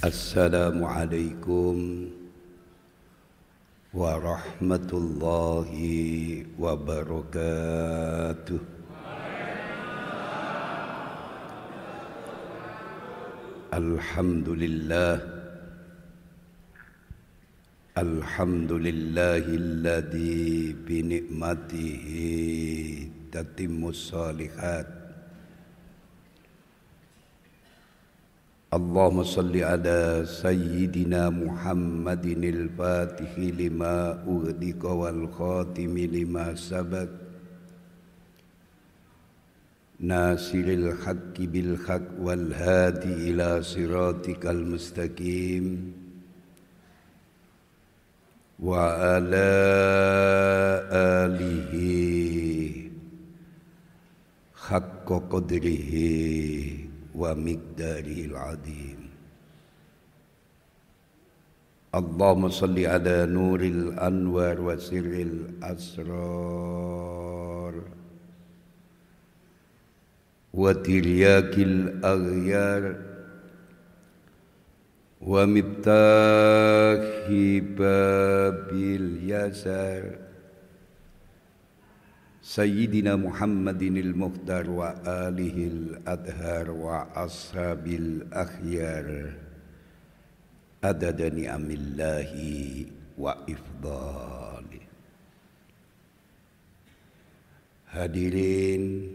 Assalamualaikum warahmatullahi wabarakatuh. Alhamdulillahilladzi bi ni'matihi tatimmus shalihat. Allahumma salli ala sayyidina Muhammadinil fatihi lima ughliqa wal khatimi lima sabaq nasiril haqqi bil haqq wal hadi ila siratikal mustaqim wa ala alihi haqqa qadrihi wa miqdaril azim. Allahumma salli ala nuril anwar wa sirril asrar wa tiryakil aghyar wa miftahi babil yasar Sayyidina Muhammadinil Mukhtar wa alihil adhar wa ashabil akhyar adada ni'amillahi wa ifdali. Hadirin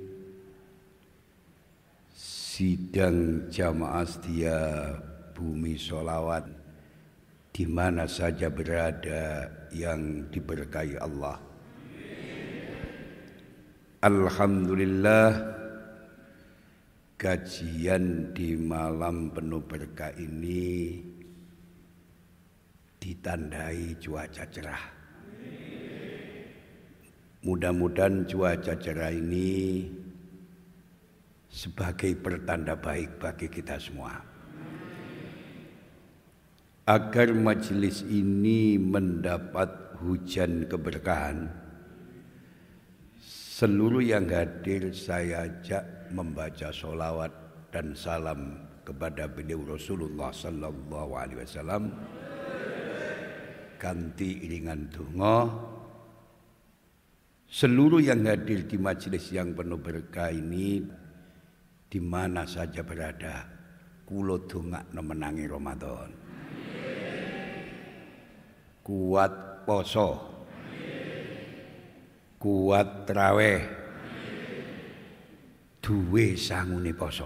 sidang jamaah setia Bumi Sholawat di mana saja berada yang diberkahi Allah. Alhamdulillah, kajian di malam penuh berkah ini ditandai cuaca cerah. Mudah-mudahan cuaca cerah ini sebagai pertanda baik bagi kita semua. Agar majelis ini mendapat hujan keberkahan, seluruh yang hadir saya ajak membaca sholawat dan salam kepada beliau Rasulullah sallallahu alaihi wasallam kanthi iringan donga. Seluruh yang hadir di majelis yang penuh berkah ini di mana saja berada, kula dongakno menangi Ramadan. Kuat poso, kuat traweh, duwe sangune poso,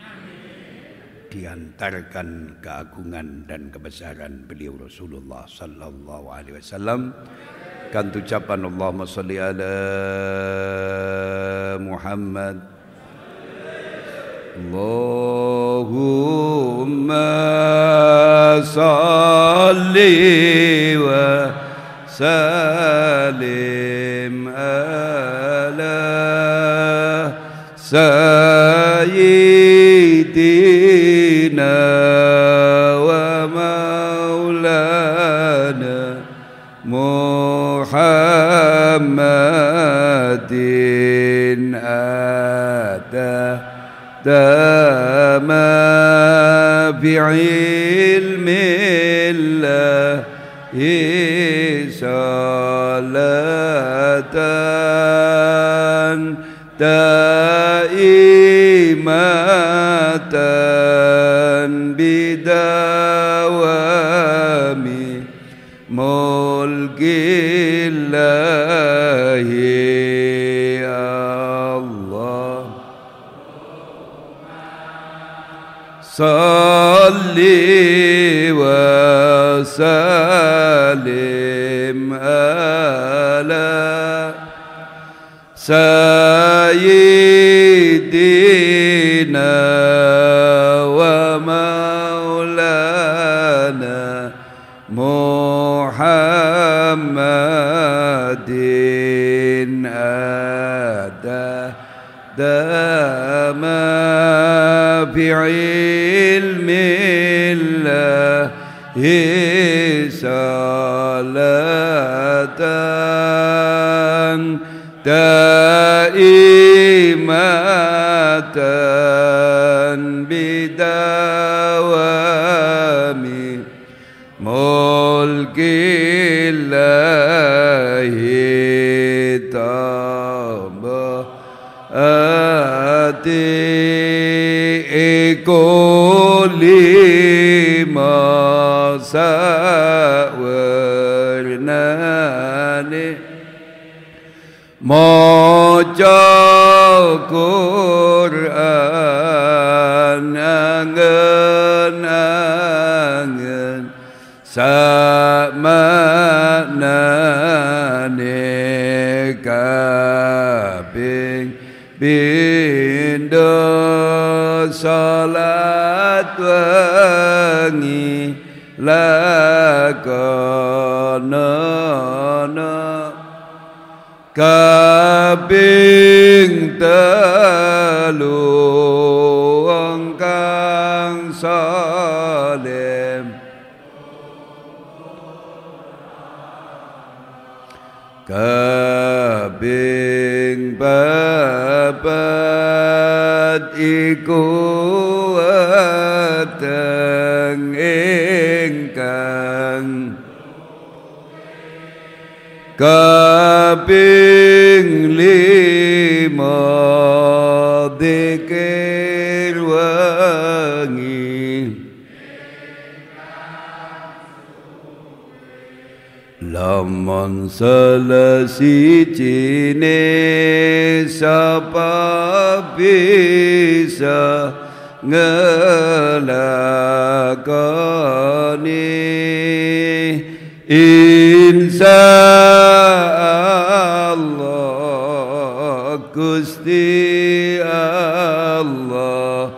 diantarkan keagungan dan kebesaran beliau Rasulullah sallallahu alaihi wasallam kan ucapan Allahumma sholli ala Muhammad. Allahumma sholli wa salim ala sayyidina wa maulana Muhammadin dama bi'ilmillahi salatan daimatan bidawami mulkillahi Allah. Salli wa salim ala sayyidina wa maulana Muhammadin dama bi'ilmillahi salatan daimatan bidawami ati iku lima sawernane maca Quran angen-angen samaknane kaping pindho salat wengi lakonono kaping telu kang saleh kaping papat iku weteng ingkang kaping lima dzikir wengi lamun selesijine sapa bisa ngelakoni insya Allah Gusti Allah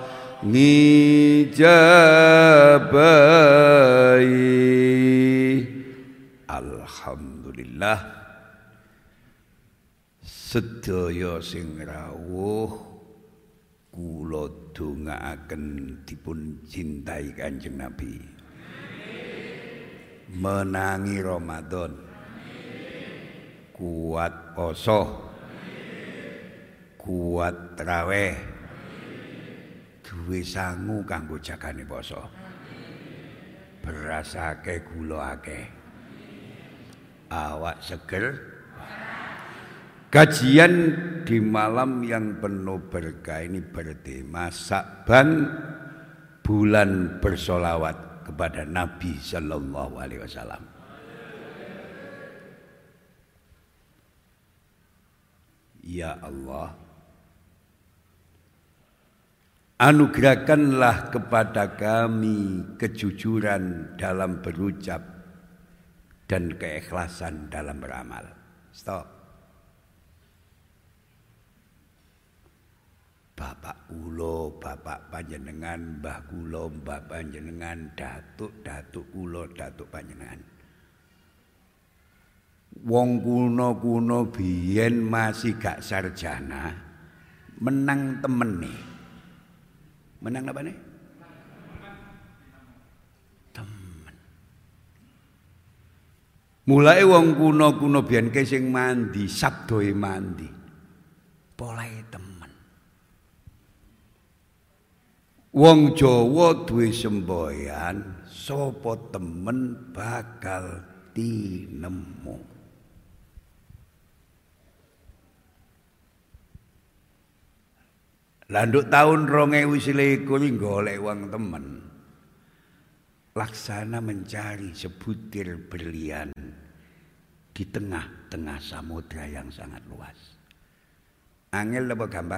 ngijabahi. Alhamdulillah sedaya sing rawuh kula dongaaken dipun cintai Kanjeng Nabi menangi Ramadan kuat poso kuat traweh duwe sangu kanggo jagane poso beras akeh gula akeh awak seger. Kajian di malam yang penuh berkah ini bertema Sa'ban, bulan bersolawat kepada Nabi Sallallahu Alaihi Wasallam. Ya Allah, anugerahkanlah kepada kami kejujuran dalam berucap dan keikhlasan dalam beramal. Stop. Bapak kula, bapak panjenengan, mbah kula, mbah panjenengan, datuk kula, datuk panjenengan. Wong kuno-kuno biyen masih gak sarjana, menang temene. Menang apa nih? Temen. Mulai wong kuno-kuno biyen ke sing mandi, sabdoe mandi. Polahe temen. Wong Jawa duwe semboyan, sapa temen bakal tinemu. Landuk tahun 2021 golek wong temen. Laksana mencari sebutir berlian di tengah-tengah samudra yang sangat luas. Angel apa gampang?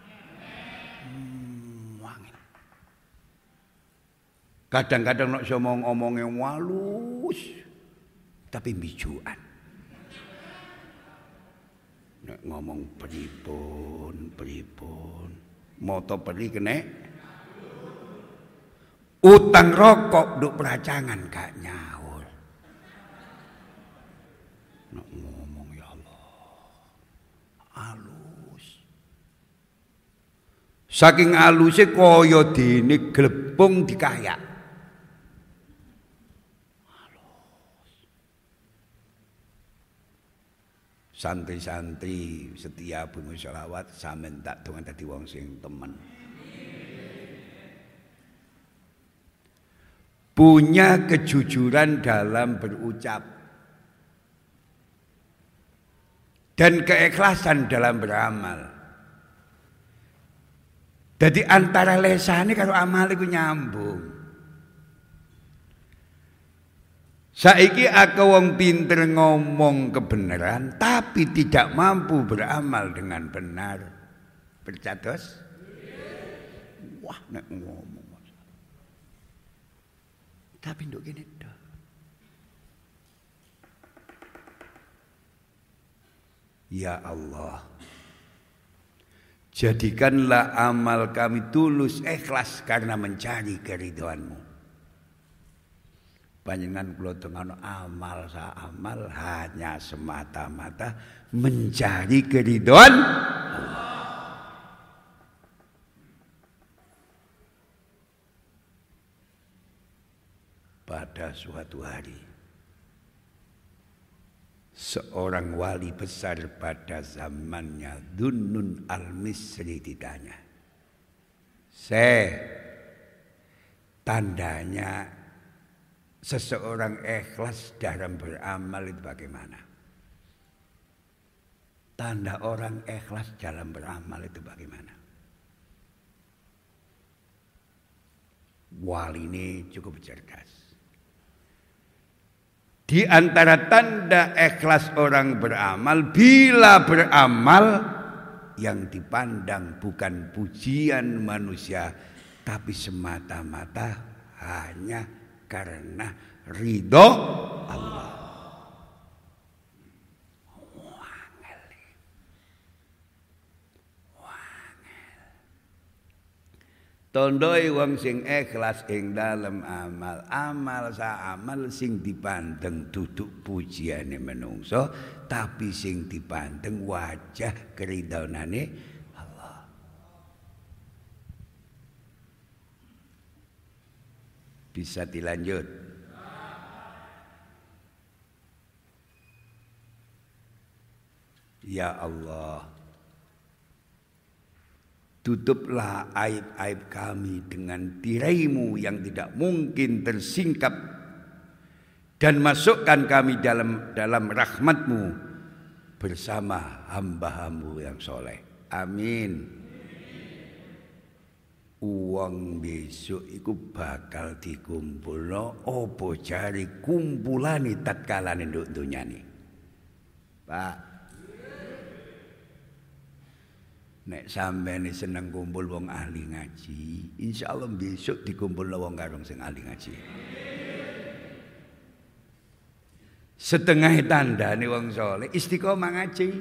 Kadang-kadang nek omong-omonge walus tapi bijuan. Nek ngomong pripun, moto peri kene utang rokok nduk peracangan gak nyaur. Nek ngomong ya Allah alus. Saking aluse kaya dene glepung dikayak. Santri-santri setia bunga sholawat sampeyan tak dongan dadi wong sing temen. Punya kejujuran dalam berucap dan keikhlasan dalam beramal. Dadi antara lesane karo amal iku nyambung. Saiki akeh wong pinter ngomong kebenaran tapi tidak mampu beramal dengan benar. Percados? Wah, nek ngomong. Tapi nduk kene tok. Ya Allah, jadikanlah amal kami tulus ikhlas karena mencari keridhaan-Mu. Panjenengan kula tengano amal sa amal hanya semata-mata mencari keridhaan Allah. Pada suatu hari seorang wali besar pada zamannya Dhunnun al-Misri ditanya, tandanya seseorang ikhlas dalam beramal itu bagaimana? Tanda orang ikhlas dalam beramal itu bagaimana? Wali ini cukup cerdas. Di antara tanda ikhlas orang beramal, bila beramal yang dipandang bukan pujian manusia, tapi semata-mata hanya karena ridho Allah. Tandai wong sing ikhlas ing dalem amal sa amal sing dipandeng duduk pujiane menungso, tapi sing dipandeng wajah keridhaanane Allah. Bisa dilanjut. Ya Allah, tutuplah aib-aib kami dengan tirai-Mu yang tidak mungkin tersingkap, dan masukkan kami dalam rahmat-Mu bersama hamba-Mu yang soleh. Amin. Uang besok iku bakal dikumpulno opo jari kumpulane tatkalane nduk dunyane. Pak, nek sampeyan seneng kumpul wong ahli ngaji, insyaallah besok dikumpulno wong karung sing ahli ngaji. Setengah tandane wong saleh istiqomah ngaji.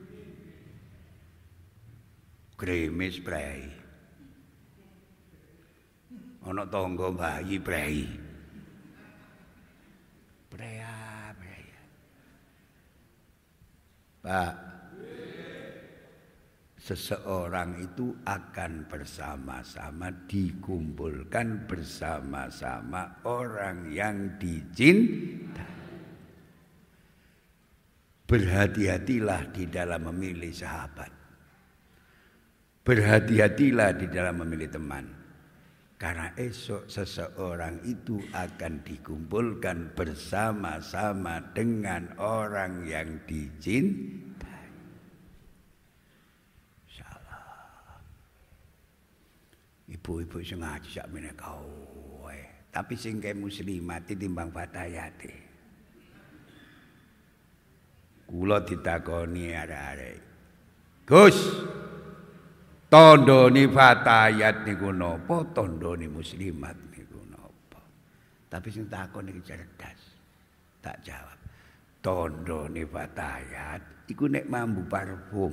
Kremes prei. Ana tangga bayi prei. Prea. Pak, seseorang itu akan bersama-sama dikumpulkan bersama-sama orang yang dicintai. Berhati-hatilah di dalam memilih sahabat. Berhati-hatilah di dalam memilih teman. Karena esok seseorang itu akan dikumpulkan bersama-sama dengan orang yang dicintai. Ibu-ibu sing ngaji sak meneh kowe, tapi sing ke muslimat timbang fatayate. Kula ditakoni arek-arek, Gus, tandane fatayat niku napa? Tandane muslimat niku napa? Tapi sing takon iki cerdas. Tak jawab. Tandane fatayat iku nek mambu parfum.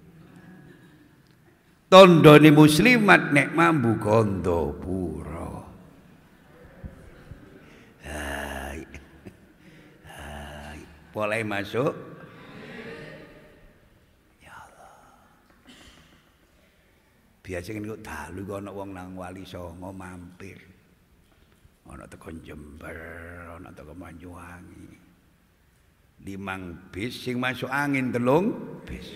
Tandane muslimat nek mambu Gandapura. Hai. Boleh masuk? Ya Allah. Biasane kok dalu kok ana wong nang Wali Songo mampir. Ana teko Jember, ana teko Banyuwangi. 5 bis sing masuk angin 3 bis.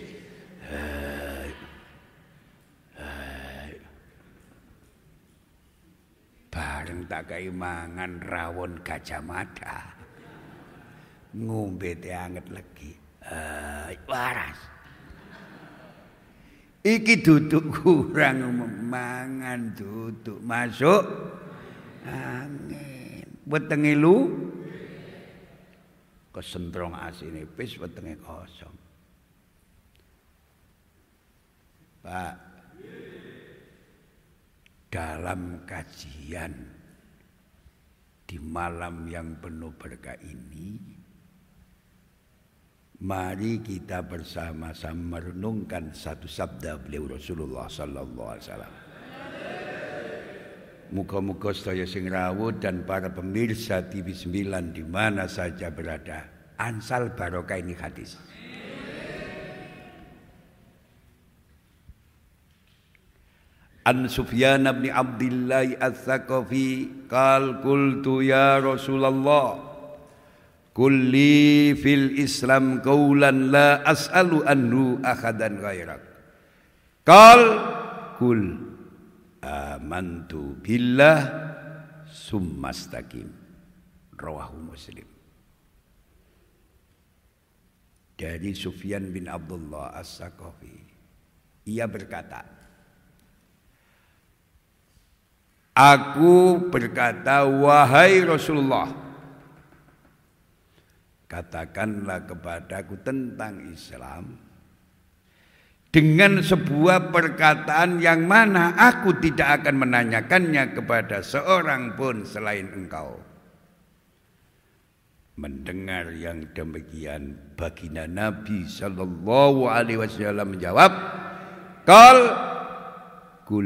Bareng tak kei mangan rawon Gajah Mada. Ngombe teh anget legi. Waras. Iki duduk kurang mangan duduk masuk angin. Wetenge lu kesentrong asine wis wetenge kosong. Pak, dalam kajian di malam yang penuh berkah ini, mari kita bersama-sama merenungkan satu sabda beliau Rasulullah sallallahu alaihi wasallam. Muga-muga sedaya sing rawuh dan para pemirsa TV 9 di mana saja berada, ansal barokah ini hadis. An Sufyan bin Abdullah Ats-Tsaqafi qal qultu ya Rasulullah kulli fil Islam qaulan la as'alu anhu ahadan ghairak qal kul amantu billah summastaqim rawahu Muslim. Dari Sufyan bin Abdullah Ats-Tsaqafi, ia berkata, aku berkata, wahai Rasulullah, katakanlah kepadaku tentang Islam dengan sebuah perkataan yang mana aku tidak akan menanyakannya kepada seorang pun selain engkau. Mendengar yang demikian, baginda Nabi sallallahu alaihi wasallam menjawab, kul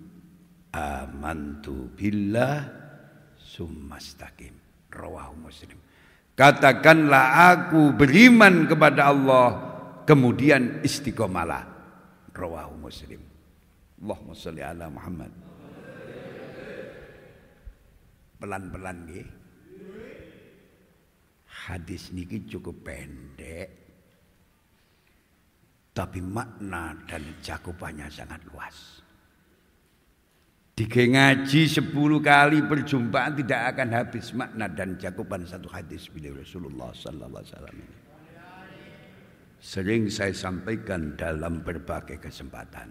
amantu billah summastaqim rawahu Muslim. Katakanlah aku beriman kepada Allah kemudian istiqomalah rawahu Muslim. Allahumma sholli ala Muhammad. Pelan-pelan nggih. Hadis niki cukup pendek tapi makna dan cakupannya sangat luas. Jika ngaji 10 kali perjumpaan tidak akan habis makna dan cakupan satu hadis beliau Rasulullah sallallahu alaihi wasallam. Sering saya sampaikan dalam berbagai kesempatan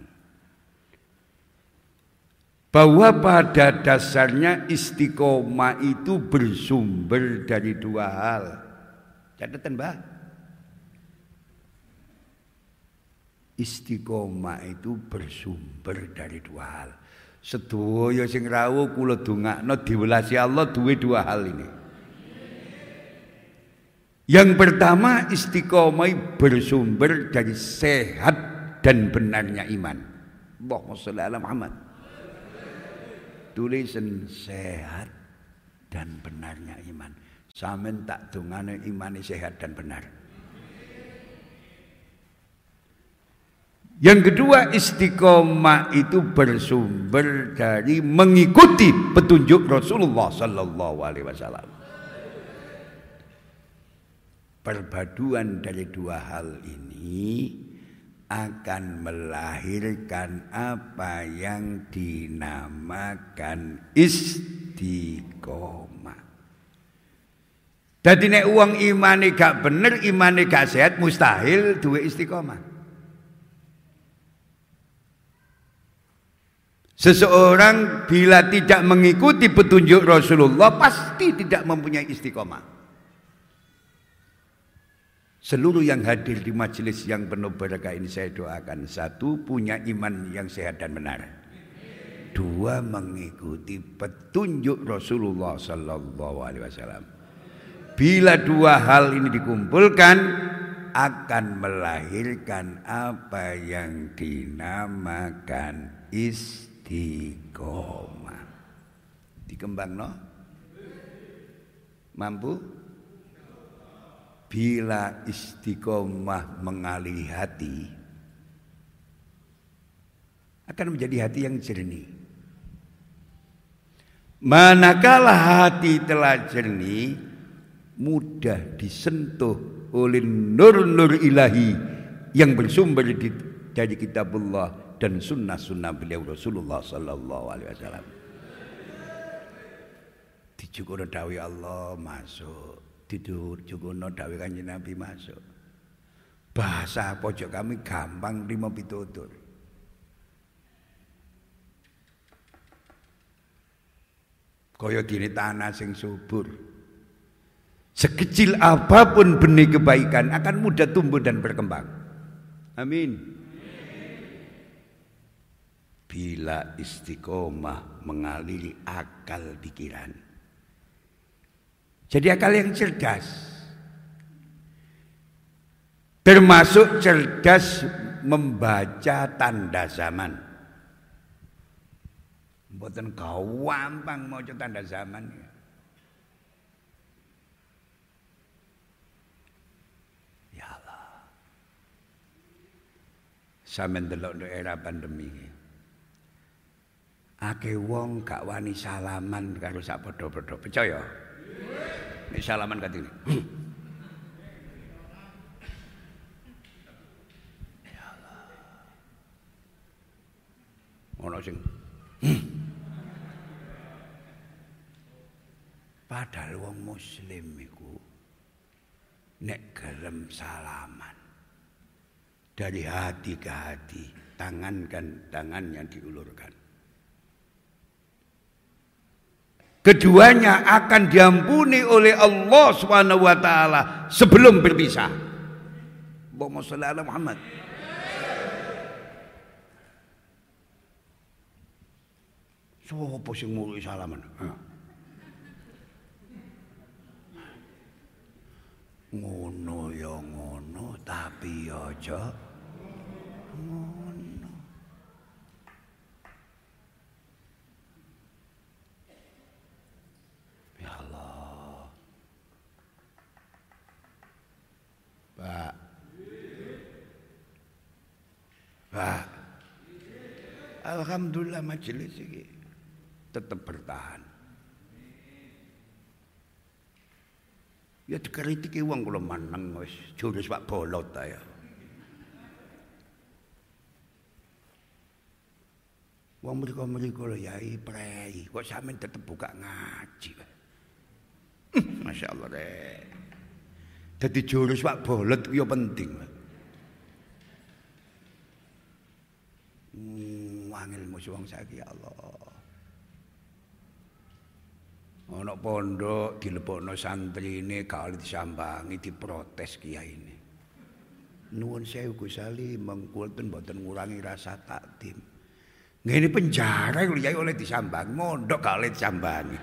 bahwa pada dasarnya istiqomah itu bersumber dari 2 hal. Catatan, Mbah. Istiqomah itu bersumber dari 2 hal. Sedaya sing rawuh kula dongakno diwelasi Allah duwe 2 hal ini. Yang pertama, istiqomah bersumber dari sehat dan benarnya iman. Allahumma sholli ala Muhammad. Tulisan sehat dan benarnya iman. Sampeyan tak dongane imane sehat dan benar. Yang kedua, istiqomah itu bersumber dari mengikuti petunjuk Rasulullah sallallahu alaihi wasallam. Perpaduan dari 2 hal ini akan melahirkan apa yang dinamakan istiqomah. Dadi nek wong imane gak bener, imane gak sehat, mustahil duwe istiqomah. Seseorang bila tidak mengikuti petunjuk Rasulullah pasti tidak mempunyai istiqomah. Seluruh yang hadir di majelis yang penuh berkah ini saya doakan. 1, punya iman yang sehat dan benar. 2, mengikuti petunjuk Rasulullah sallallahu alaihi wasallam. Bila 2 hal ini dikumpulkan akan melahirkan apa yang dinamakan istiqomah. Dikembangno? Mampu? Bila istiqomah mengaliri hati akan menjadi hati yang jernih. Manakala hati telah jernih, mudah disentuh oleh nur-nur ilahi yang bersumber dari kitabullah dan sunnah-sunnah beliau Rasulullah sallallahu alaihi wasallam. Dicukup dawuh Allah masuk, dicukup dawuh Kanjeng Nabi masuk. Bahasa pojok kami gampang rimo pitutur. Kaya dene tanah sing subur. Sekecil apapun benih kebaikan akan mudah tumbuh dan berkembang. Amin. Bila istiqomah mengaliri akal pikiran. Jadi akal yang cerdas. Termasuk cerdas membaca tanda zaman. Mboten gampang maca tanda zaman. Ya Allah. Sampeyan delok era pandemi iki. Akeh wong gak wani salaman karo sak padha-padha. Percaya? Nek salaman katene. Ya Allah. Ono sing padahal wong muslim iku nek gelem salaman dari hati ke hati, tangan yang diulurkan. Keduanya akan diampuni oleh Allah Subhanahu wa taala sebelum berpisah. Allahumma shalli ala Muhammad. Sopo sing mulai salaman? Ngono ya ngono tapi aja ngono. Ya Allah. Pak. Alhamdulillah majelis ini tetap bertahan. Ya dikritiki wong kula maneng wis jurus Pak Bolot ta ya. Wong mriko-mriko lho yai prei, kok sampean tetep buka ngaji. Masyaallah rek. Dadi jurus Pak Bolot ku ya penting. Wangil musuh wong saiki ya Allah. Ana pondok dilebokno santrine gak oleh disambangi diprotes kiyaine. Nuwun sewu Gus Ali mengkulten mboten ngurangi rasa takdim. Ngene penjara lho yai oleh disambangi, mondok gak oleh disambangi.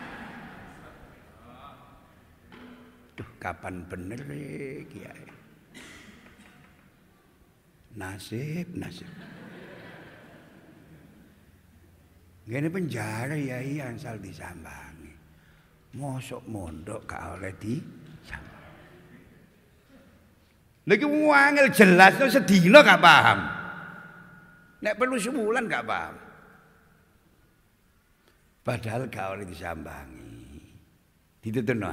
Duh kapan bener kiai. Nasib. Ngene penjara yai asal disambangi. Mosok mondok gak oleh disambangi. Lagi wangil jelas sedina gak paham. Nek perlu sebulan gak paham. Padahal gak oleh disambangi. Dituturno.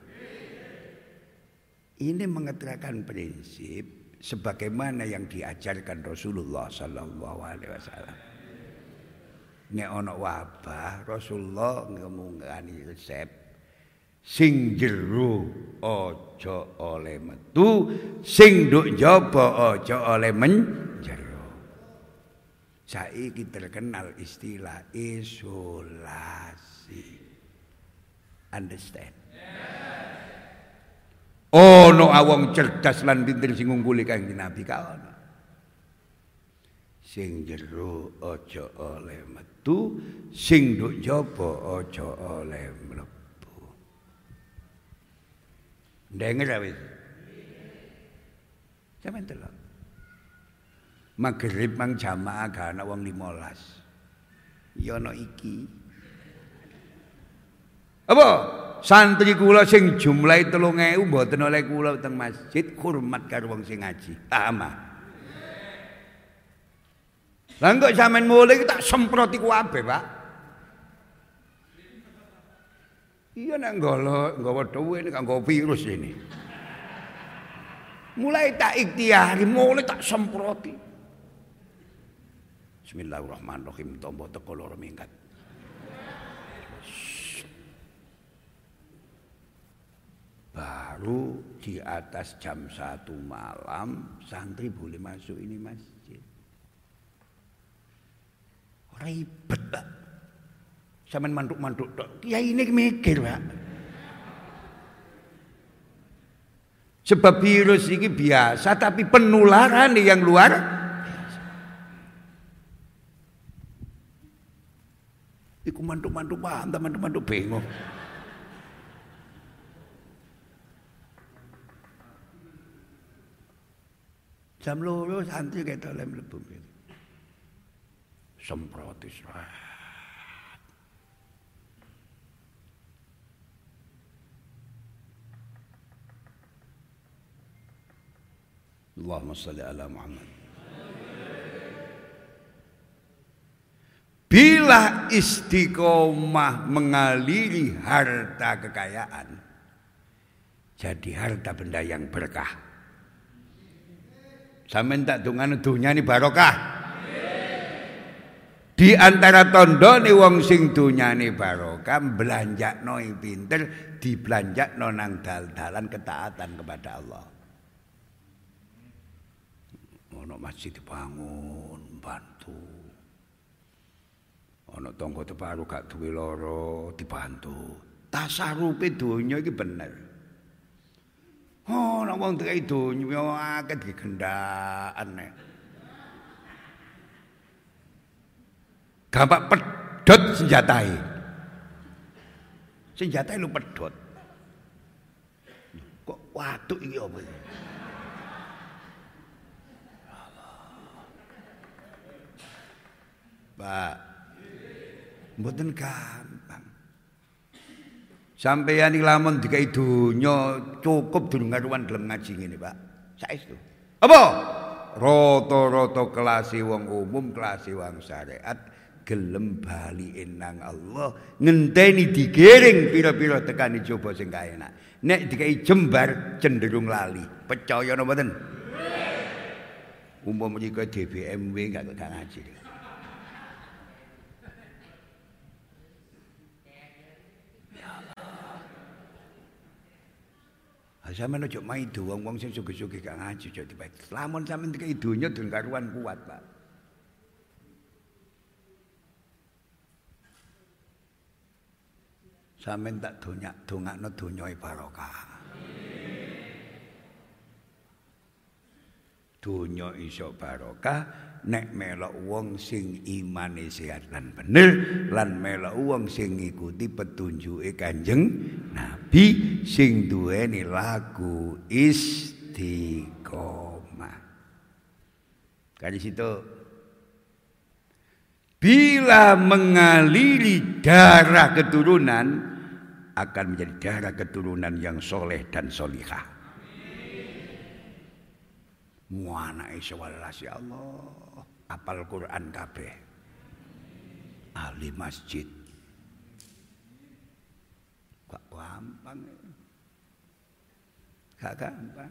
Ini mengeterakan prinsip sebagaimana yang diajarkan Rasulullah sallallahu alaihi wasallam. Nek ana wabah Rasulullah ngomongani resep sing jero aja oleh metu, sing nduk njaba aja oleh menjero. Saiki terkenal istilah isolasi. Understand? Ono awong cerdas lan pinter sing ngungguli Kanjeng Nabi ka ono. Sing jero aja oleh metu, sing nduk njaba aja oleh mlebu. Denger wis. Sampeyan delok. Magrib mang jamaah gak ana wong 15. Ya ana iki. Apa? Santri kula sing jumlahe 3000 mboten oleh kula teng masjid hormat karo wong sing ngaji. Paham? Lah kok sampean mulai tak semproti kabeh, Pak. Iya nek nggawa dhuwit nek nggawa virus ini. Mulai tak ikhtiari, mulai tak semproti. Bismillahirrahmanirrahim. Tombo teko loro minggat. Baru di atas jam 1 malam santri boleh masuk ini masjid. Ribet, Pak. Sampeyan mantuk-mantuk tok. Kiai ini mikir, Pak. Sebab virus ini biasa tapi penularan yang luar biasa. Iku mantuk-mantuk paham, mantuk-mantuk bingung. Jam loro santri ketok lem mlebu. Semprot Israel. Allahumma salli ala Muhammad. Bila istiqomah mengaliri harta kekayaan, jadi harta benda yang berkah. Sampeyan tak dongane dunyane barokah. Di antara tandane wong sing dunyane barokah, belanjakno pinter, dibelanjakno nang dal-dalan ketaatan kepada Allah. Ono masjid dibangun, bantu. Ono tangga teparu gak duwe lara, dibantu. Tasarupe donya iki bener. Oh, nek wong dikai donya akeh digendhakan nek. Gampang pedhot senjatae. Senjatae lu pedhot. Kok watuk iki apa iki? Pak, mboten gampang. Sampeyan iki lamun dikai donya cukup durung karuan gelem ngaji ngene, Pak. Saestu. Apa? Rata-rata kelase wong umum, kelase wong syariat gelem balike nang Allah, ngenteni digiring pira-pira tekani coba sing kaenak. Nek dikai jembar cenderung lali. Percaya napa mboten? Umpama iki DBMW gak ngaji. Sampeyan ojo maido wong-wong sing sugih-sugih gak ngaji aja dibae. Lamun sampeyan dikai donya durung karuan kuat, Pak. Sampeyan tak dongakno donyae barokah. Donya iso barokah nek melok wong sing imane sehat lan bener lan melok wong sing ngikuti petunjuke Kanjeng Nabi sing duweni lagu istiqomah. Kali situ bila mengaliri darah keturunan akan menjadi darah keturunan yang soleh dan solihah. Muanake sewelas ya Allah, apal Quran kabeh. Ahli masjid. Gak gampang. Gak gampang.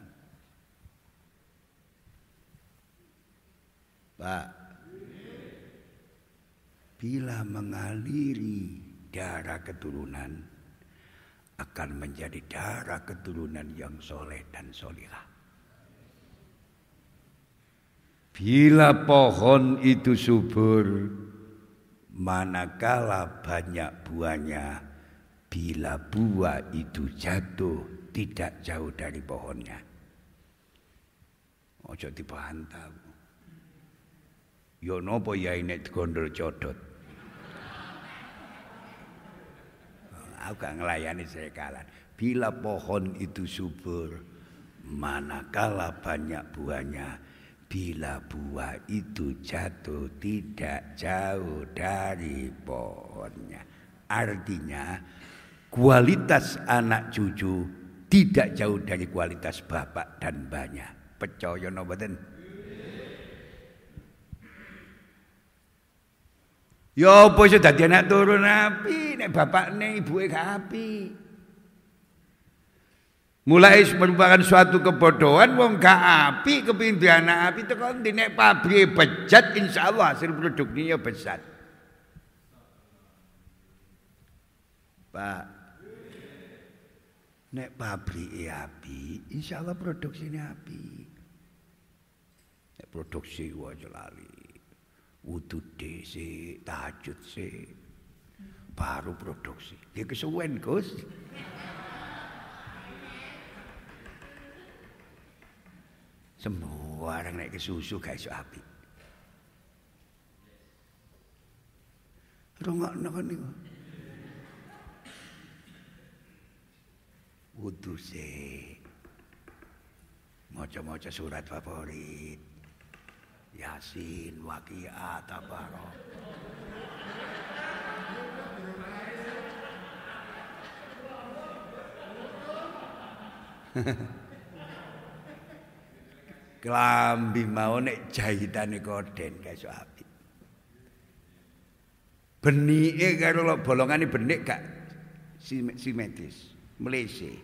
Pak, bila mengaliri darah keturunan akan menjadi darah keturunan yang soleh dan solihah. Bila pohon itu subur, manakala banyak buahnya, bila buah itu jatuh tidak jauh dari pohonnya. Ojo dibantah. Yo nopo ya ini gondol codot. Aku gak ngelayani sekalan. Bila pohon itu subur, manakala banyak buahnya, bila buah itu jatuh tidak jauh dari pohonnya. Artinya kualitas anak cucu tidak jauh dari kualitas bapak dan mbahnya. Percaya napa mboten? Ya apa iso dadi anak turun api nek bapakne ibuke gak api. Mulai merupakan suatu kebodohan wong gak api kepengin duwe anak api teko ndi nek pabrike bejat insyaallah hasil produknya besar. Pak, nek pabrike api insyaallah produksine api. Nek produksi wae lali. Wudu dhisik, tahajud sik. baru produksi. Dia kesuwen Gus. Semua orang naik ke susu gak iso apik. Rungokno kan niku. Wudu sik. Maca-maca surat favorit. Yasin, Waqiah, Tabarok. Klambi mau nek jahitane koden gak iso apik. Benike karo bolongane benik gak simetris, mlese.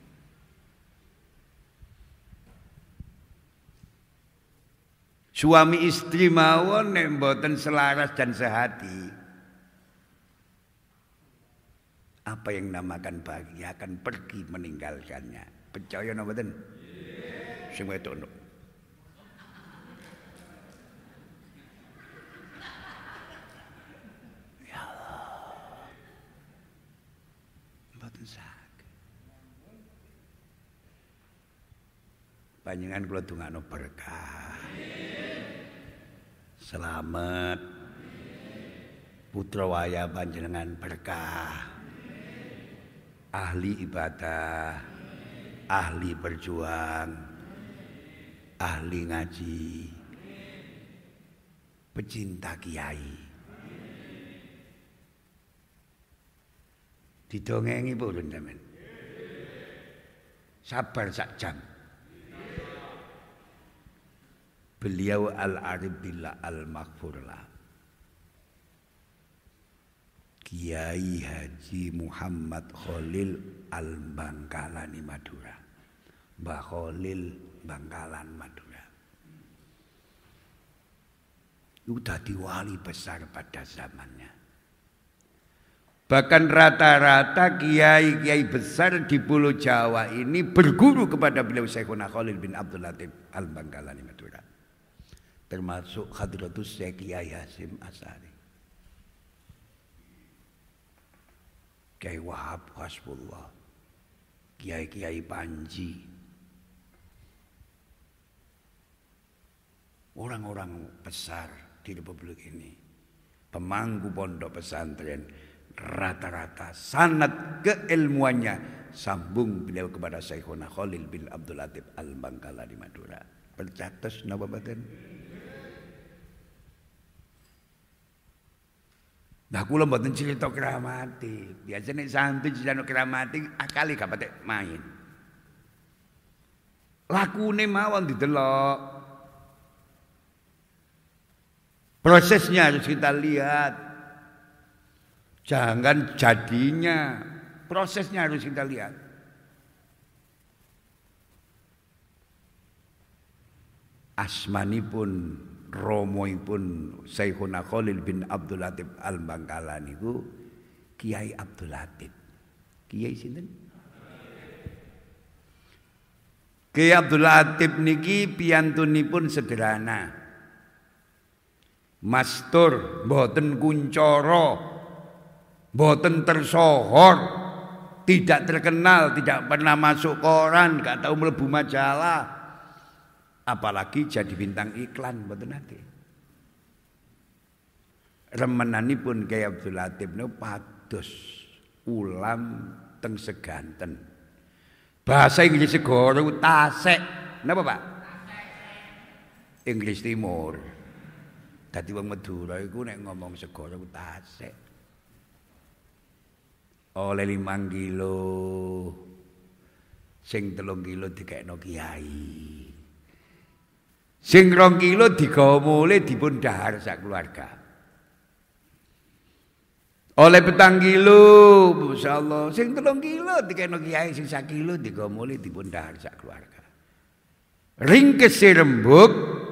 Suami istri mawon nek mboten selaras dan sehati, apa yang namakan bahagia akan pergi meninggalkannya. Percaya napa mboten? Sing wedok. Ya Allah. Mboten saged. Panjenengan kula dongakno berkah. Selamat. Putra waya panjenengan berkah. Ahli ibadah, ahli berjuang, ahli ngaji, pecinta kiai. Didongengi purun sampean. Sabar sak jam. Beliau al-arif billah al-maghfurlah. Kiai Haji Muhammad Khalil Al-Bangkalani Madura. Mbah Khalil Bangkalan Madura. Sudah wali besar pada zamannya. Bahkan rata-rata kiai-kiai besar di Pulau Jawa ini berguru kepada beliau Syekhuna Khalil bin Abdul Latif Al-Bangkalani Madura. Termasuk Hadratus Syekh Kiai Hasyim Asy'ari, Kiai Wahab Hasbullah, Kiai-kiai Panji, orang-orang besar di Republik ini, pemangku pondok pesantren, rata-rata sanad keilmuannya sambung beliau kepada Syekhuna Khalil bin Abdul Latif Al-Bangkalani Madura. Percatos napa mboten? Nah kula mboten cerita kramati. Biasane santri cerita kramati akali gak patek main. Lakune mawon didelok. Prosesnya harus kita lihat. Jangan jadinya. Prosesnya harus kita lihat. Asmanipun romoipun Syekhuna Khalil bin Abdul Latif Al-Bangkalani niku Kiai Abdul Latif. Kiai sinten? Kiai Abdul Latif niki piyantunipun sederhana. Mastur, mboten kuncara, mboten tersohor, tidak terkenal, tidak pernah masuk koran, gak tahu mlebu majalah. Apalagi jadi bintang iklan mboten nate. Remenanipun Kiai Abdul Latif niku pados ulam teng seganten. Bahasa Inggris segara tasek. Napa, Pak? Inggris Timur. Dadi wong Madura iku nek ngomong segara tasek. Oleh 5 kilo. Sing 3 kilo dikekno kiai. Sing 2 kilo digawa mulih dipun dahar sak keluarga. Oleh 4 kilo, masyaallah. Sing 3 kilo dikene kiai, sing 1 kilo digawa mulih dipun dahar sak keluarga. Ringkese rembug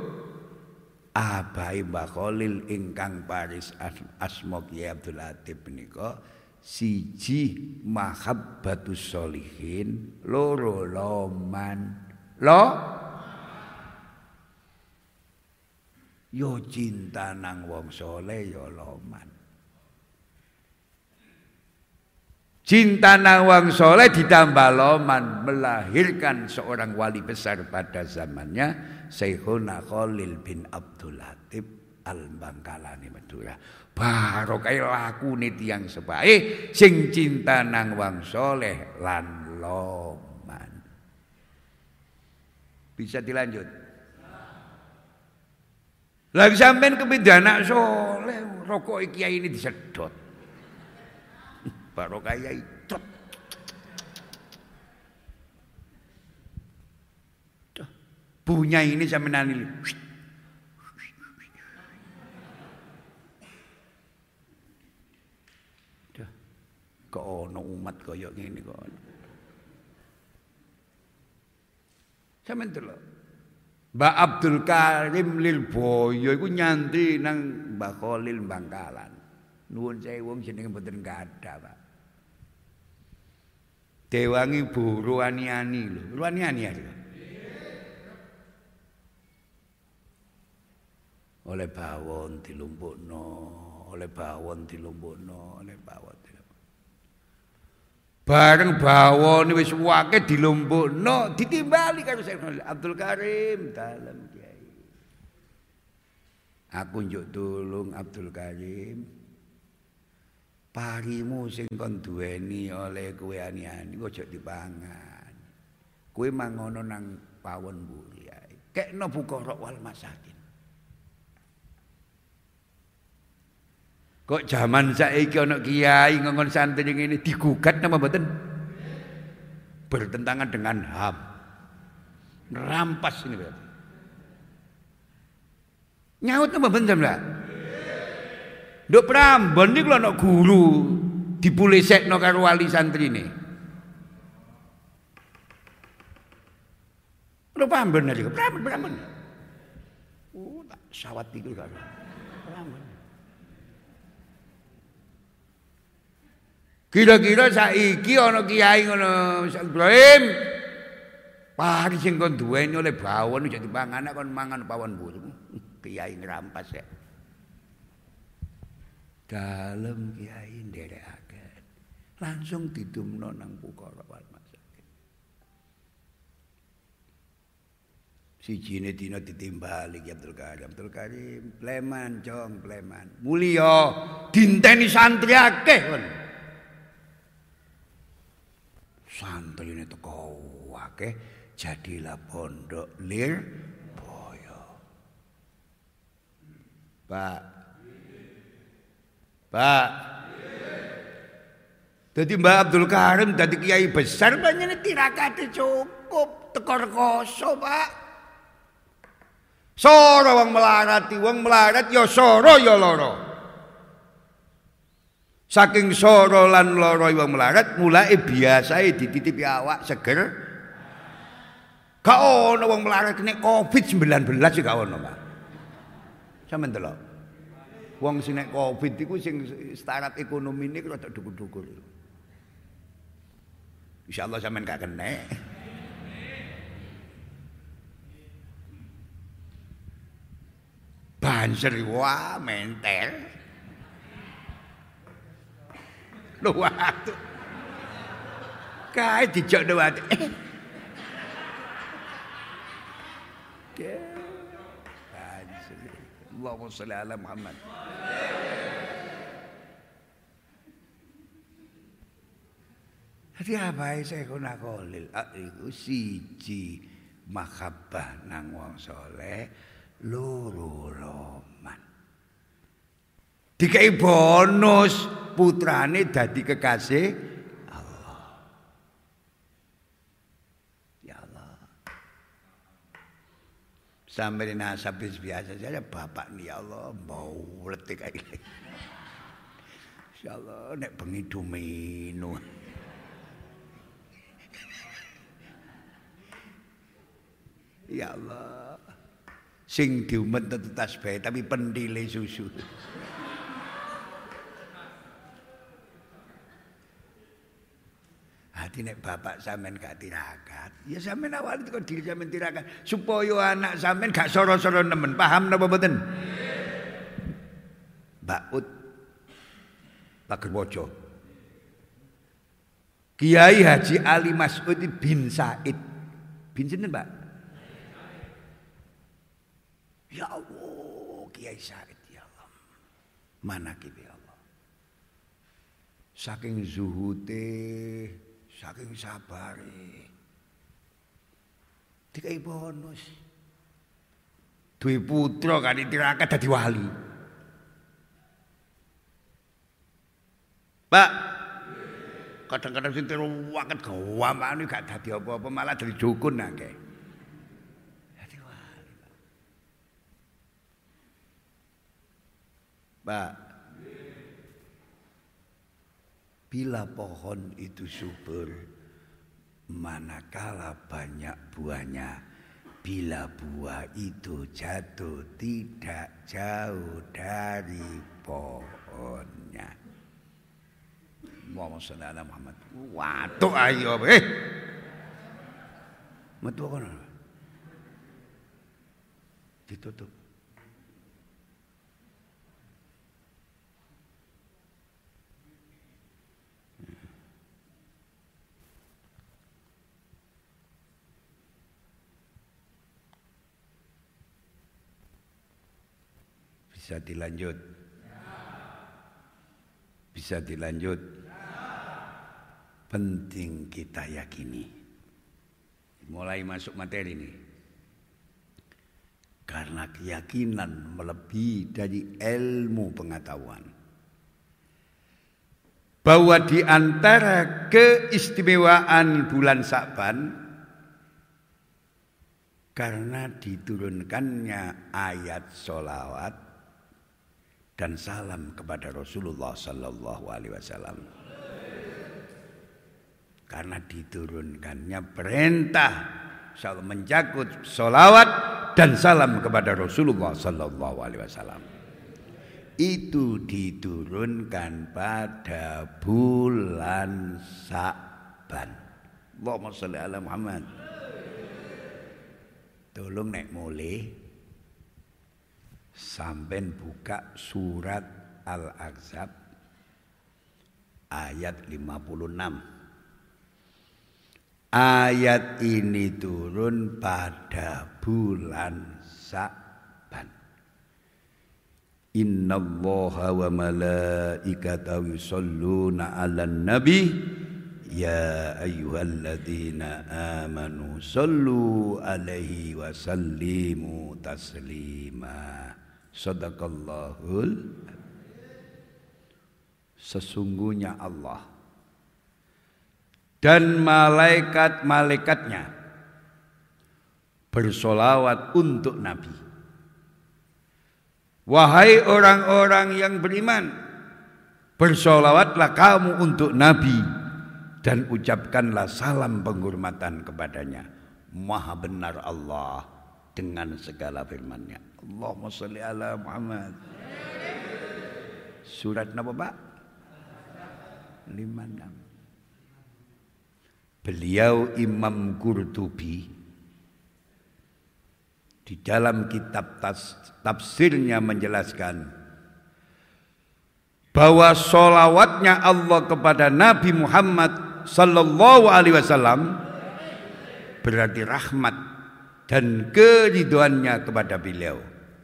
abai Mbah Khalil ingkang paris asma Kiai Abdul Latif menika siji mahabbatus sholihin, loro loman. Yo cinta nang wong soleh yo loman. Cinta nang wong soleh ditambah loman melahirkan seorang wali besar pada zamannya, Syekhuna Khalil bin Abdul Latif Al-Bangkalani Madura. Barokah lakune tiyang sepahe sing cinta nang wong soleh lan loman. Bisa dilanjut. Lagi sampean kepindah anak soleh, rokok kiai ini disedot. Barokah kiai trot. Punya ini sampean ini. Kok ono umat kaya ngene kok. Sampeyan delok. Mbak Abdul Karim Lilboyo iku nyantri nang Mbah Khalil Bangkalan. Nuwun sewu wong jenenge mboten gadah, Pak. Dewangi Bu Ruwaniani lho. Ruwaniani ya. Oleh bawon dilumpukno, oleh bawon dilumpukno, oleh bawon. Bareng bawon wis wake dilumpukno, ditimbali karo Syekh Abdul Karim dalem kiai. Aku njuk tulung Abdul Karim. Parimu sing kon duweni oleh kowe ani-ani ojo dipangan. Kowe mangono nang pawon mburi ae. Kekno fuqara wal masakin. Kok zaman saiki ana kiai ngongkon santri ngene digugat napa mboten? Bertentangan dengan HAM. Nerampas ini berarti. Nyaut napa mboten sampeyan? Nduk Prambon niku ana guru dipulisekno karo wali santrine. Lho Prambon niku, Prambon. Oh, tak sawat iku karo. Prambon. Kira-kira saiki ana kiai ngono Ibrahim. Pari sing kon duweni oleh bawon aja dipangan kon mangan pawon burung. Kiai ngrampas ya. Dalem kiai nderekaken. Langsung didumno nang fuqara wal masakin. Sijine dina ditimbali Ki Abdul Karim. Abdul Karim pleman jong pleman. Mulya dinteni santri akeh kon. Santrine teko akeh jadilah pondok Lirboyo. Pak. Dadi Mbak Abdul Karim dadi kiai besar panjenengan tirakate cukup teko rekoso, Pak. Sora wong melarat ya sora ya lara. Saking soro lan loro wong melarat mulai biasae dititipi awak seger. Gak ono wong melarat nek Covid-19 sih gak ono, Pak. Sampeyan delok. Wong sing nek Covid iku sing syarat ekonomine rada dhukur-dhukur. Insyaallah sampeyan gak kena. Banser wah mentel. Lho waktu kae dijok do ati. Allahumma sholli ala Muhammad. Jadi apa Syekhuna Khalil iku siji mahabbah nang wong saleh, loro loman. Dikai bonus putrane dadi kekasih Allah. Ya Allah. Sampai nasab biasa saja bapak nih ya Allah mau letik kayak gini. Insyaallah nek bengi dumino. Ya Allah. Sing diumet tetu tasbih tapi pendile susu. Hati nek bapak sampean gak tirakat, ya sampean awal itu kok diri sampean tirakat supaya anak sampean gak soro-soro nemen. Paham napa mboten? Mbak Ut Pagerbojo. Kiai Haji Ali Mas'ud bin Said. Bin sinten, Pak? Ya Allah, Kiai Said ya Allah. Manakib ya Allah. Saking zuhute, saking sabare. Dikai bonus. Duwe putra kan ditirakat dadi wali. Pak, kadang-kadang sing teruwaket gawaman gak dadi apa-apa malah dadi dukun akeh. Dadi wali. Pak. Bila pohon itu subur, manakala banyak buahnya, bila buah itu jatuh tidak jauh dari pohonnya. Allahumma sholli ala Muhammad. Waduh ayo metu kono. Ditutup. Bisa dilanjut. Bisa dilanjut. Penting kita yakini. Mulai masuk materi ini. Karena keyakinan melebihi dari ilmu pengetahuan. Bahwa di antara keistimewaan bulan Sa'ban, karena diturunkannya ayat sholawat dan salam kepada Rasulullah sallallahu alaihi wasallam. Karena diturunkannya perintah mencakup sholawat dan salam kepada Rasulullah sallallahu alaihi wasallam. Itu diturunkan pada bulan Sa'ban. Allahumma sholli ala Muhammad. Tolong nek mulai sampai buka surat Al-Ahzab ayat 56. Ayat ini turun pada bulan Sa'ban. Innallaha wa malaikatahu yusholluna 'alan nabi ya ayyuhalladzina amanu shollu 'alaihi wa sallimu taslima. Shadaqallahul. Sesungguhnya Allah dan malaikat-malaikatnya bersolawat untuk Nabi. Wahai orang-orang yang beriman, bersolawatlah kamu untuk Nabi dan ucapkanlah salam penghormatan kepadanya. Maha benar Allah dengan segala firman-Nya. Allahumma sholli ala Muhammad. Surat apa, Pak? 56. Beliau Imam Qurtubi di dalam kitab tafsirnya menjelaskan bahwa sholawatnya Allah kepada Nabi Muhammad sallallahu alaihi wasallam berarti rahmat dan keridhoannya kepada beliau.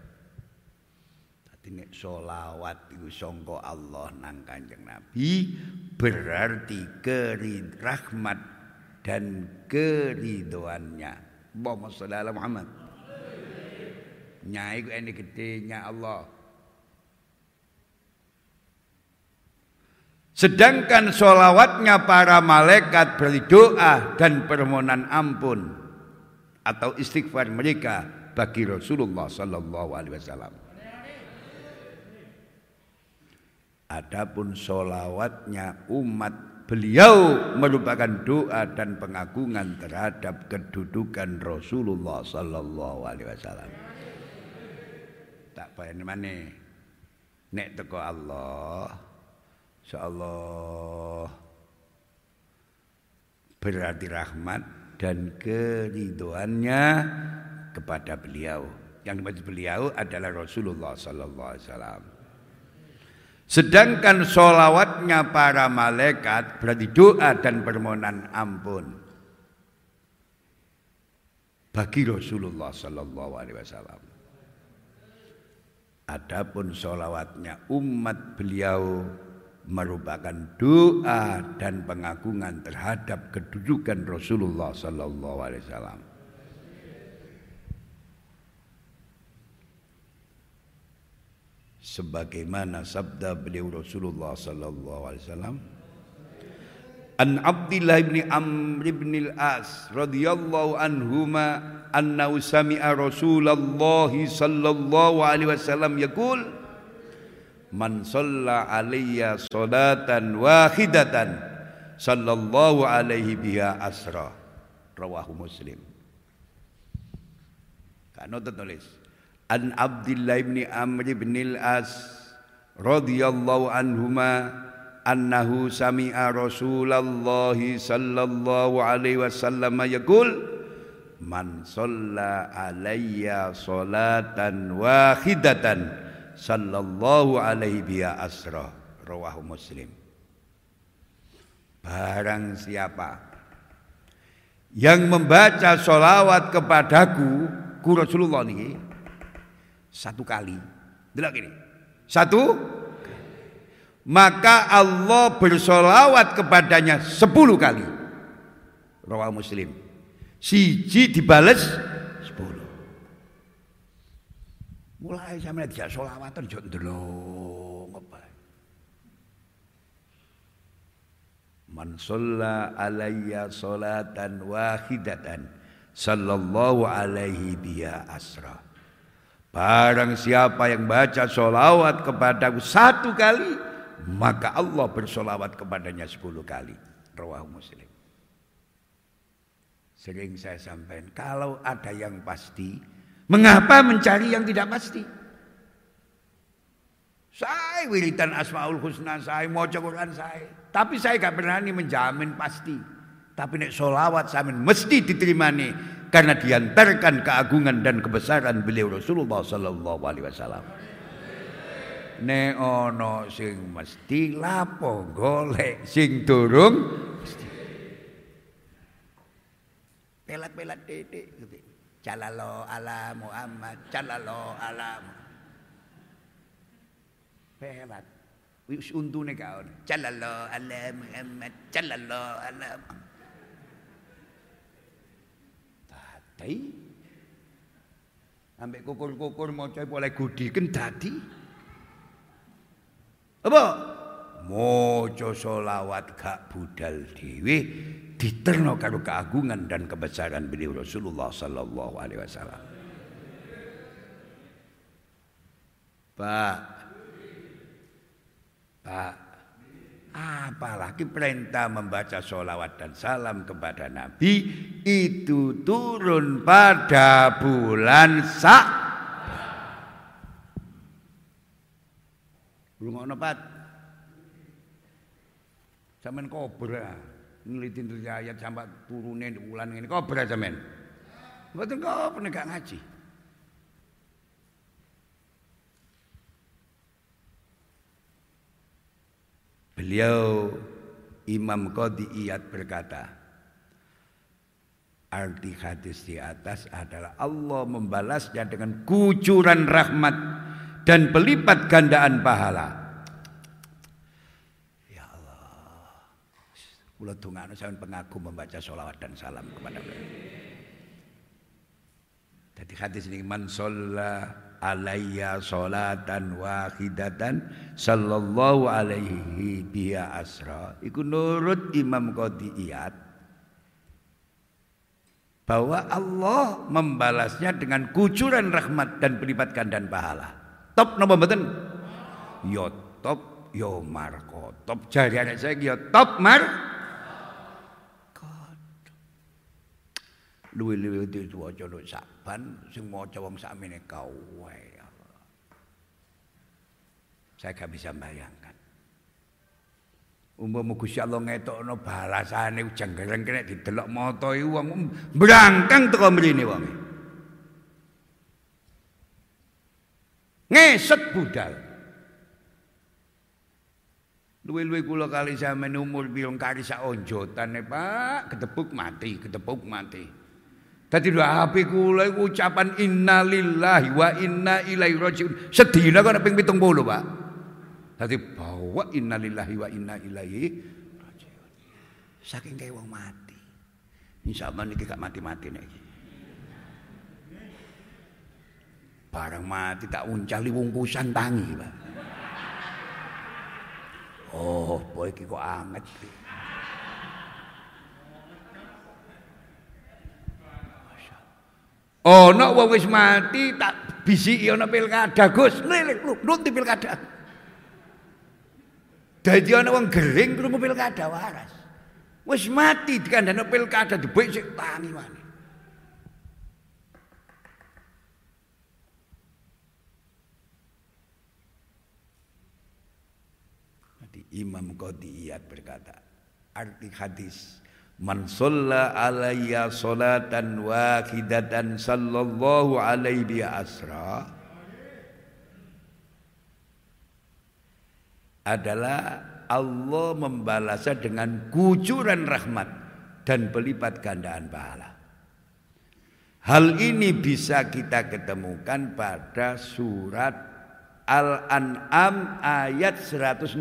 Dadi nek sholawat iku sangka Allah nang Kanjeng Nabi berarti rahmat dan keridhoannya. Allahumma sholli ala Muhammad. Nyai ku ini gedenya Allah. Sedangkan sholawatnya para malaikat berdoa dan permohonan ampun atau istighfar mereka bagi Rasulullah sallallahu alaihi wasallam. Adapun sholawatnya umat beliau merupakan doa dan pengagungan terhadap kedudukan Rasulullah sallallahu alaihi wasallam. Tak bayani maneh nek teko Allah insyaallah berarti rahmat dan keridhoannya kepada beliau. Yang dimaksud beliau adalah Rasulullah sallallahu alaihi wasallam. Sedangkan sholawatnya para malaikat berarti doa dan permohonan ampun bagi Rasulullah sallallahu alaihi wasallam. Adapun sholawatnya umat beliau merupakan doa dan pengagungan terhadap kedudukan Rasulullah sallallahu alaihi wasallam. Sebagaimana sabda beliau Rasulullah sallallahu alaihi wasallam, An Abdillah bin Amr bin al-As radhiyallahu anhuma annahu sami'a Rasulullah sallallahu alaihi wasallam yaqul man shalla alayya salatan wahidatan sallallahu alaihi biha asra. Rawahu Muslim. Kano tulis An Abdillah bin Amr bin al-As radhiyallahu anhuma annahu sami'a Rasulullah sallallahu alaihi wasallam yaqul man shalla alayya salatan wahidatan sallallahu alaihi biha asra. Rawahu Muslim. Barang siapa yang membaca sholawat kepadaku ku Rasulullah niki satu kali, delok gini, satu, maka Allah bersolawat kepadanya 10 kali. Rawahu Muslim. Siji dibales 10. Mulai sampe dijak solawatan yo ndelok apa. Man shalla alayya salatan wahidatan sallallahu alaihi biha asra. Barang siapa yang baca sholawat kepadaku 1 kali, maka Allah bersolawat kepadanya 10 kali. Rawahu Muslim. Sering saya sampaikan, kalau ada yang pasti, mengapa mencari yang tidak pasti? Saya wiridan Asmaul Husna, saya maca Quran saya, tapi saya gak berani menjamin pasti. Tapi nek sholawat samin mesti diterima nih, karena diantarkan keagungan dan kebesaran beliau Rasulullah sallallahu alaihi wasallam. Nek ono sing mesti lapo golek sing durung mesti. Pelat-pelat titik gitu. Jalalo ala Muhammad, jalalo ala pelat. Wis untune kaon. Jalalo ala Muhammad, jalalo ala Dai ambek kukur-kukur maca oleh gudiken dadi apa? Maca selawat gak budal dhewe diterno karo keagungan dan kebesaran beliau Rasulullah sallallahu alaihi wasallam. Pak, apalagi perintah membaca sholawat dan salam kepada Nabi itu turun pada bulan Belum ono Pat. Sampeyan kobra ngeliti ayat sampai turune bulan ini kobra sampeyan. Mboten kok penegak ngaji. Beliau Imam Qadhi Iyad berkata, arti hadis di atas adalah Allah membalasnya dengan kucuran rahmat dan pelipat gandaan pahala. Ya Allah, kula dongakno sampeyan pengagum membaca sholawat dan salam kepada beliau. Jadi hadis ini man shalla alayya sholatan wahidatan sallallahu alaihi biha asra. Iku nurut Imam Qadhi Iyad bahwa Allah membalasnya dengan kucuran rahmat dan berlipat gandaan pahala. Top napa mboten? Ya top, ya marko. Top jari anak saya ya top luwi-luwi diwaca lu Saban sing maca wong sakmene kowe. Saya gak bisa bayangkan. Umpama Gusti Allah ngetokno balasane jenggereng kene didelok mata iku wong mbrangkang teko mrene wong. Ngeset budal. Luwe-luwe kula kali sampeyan umur pirang kali sak onjotane, Pak, ketepuk mati. Dadi lho HP kula iku ucapan innalillahi wa inna ilaihi rajiun. Sedina kok ping 70, Pak. Dadi bawa innalillahi wa inna ilaihi rajiun. Saking kaya wong mati. Insyaallah niki gak mati-mati nek iki. Barang mati tak uncali wungkusan tangi, Pak. Oh, boy iki kok anget. Ana wong wis mati tak bisiki ana pilkada, Gus. Nuti pilkada. Dadi ana wong gering krungu pilkada waras. Wis mati dikandani pilkada dibek sik tangi maneh. Imam Qadiyat berkata, arti hadis, man shalla alayya salatan wahidatan sallallahu alaihi asra, adalah Allah membalasnya dengan kucuran rahmat dan berlipat gandaan pahala. Hal ini bisa kita ketemukan pada surat Al-An'am ayat 160.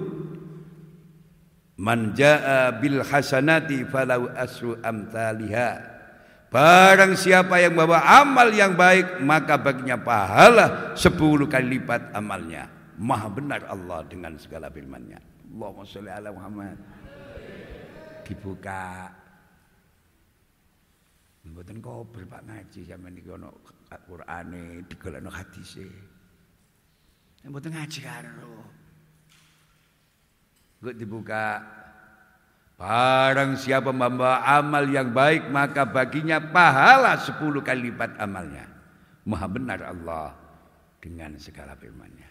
Man jaa bil hasanati falau asru amthaliha. Barang siapa yang membawa amal yang baik, maka baginya pahala 10 kali lipat amalnya. Maha benar Allah dengan segala firman-Nya. Allahumma sholli ala Muhammad. Dibuka. Mboten kober Pak ngaji sampeyan iki ana Qur'ane, digolekno hadise. Mboten ngaji karo. Kok dibuka. Barang siapa membawa amal yang baik, maka baginya pahala 10 kali lipat amalnya. Maha benar Allah dengan segala firman-Nya.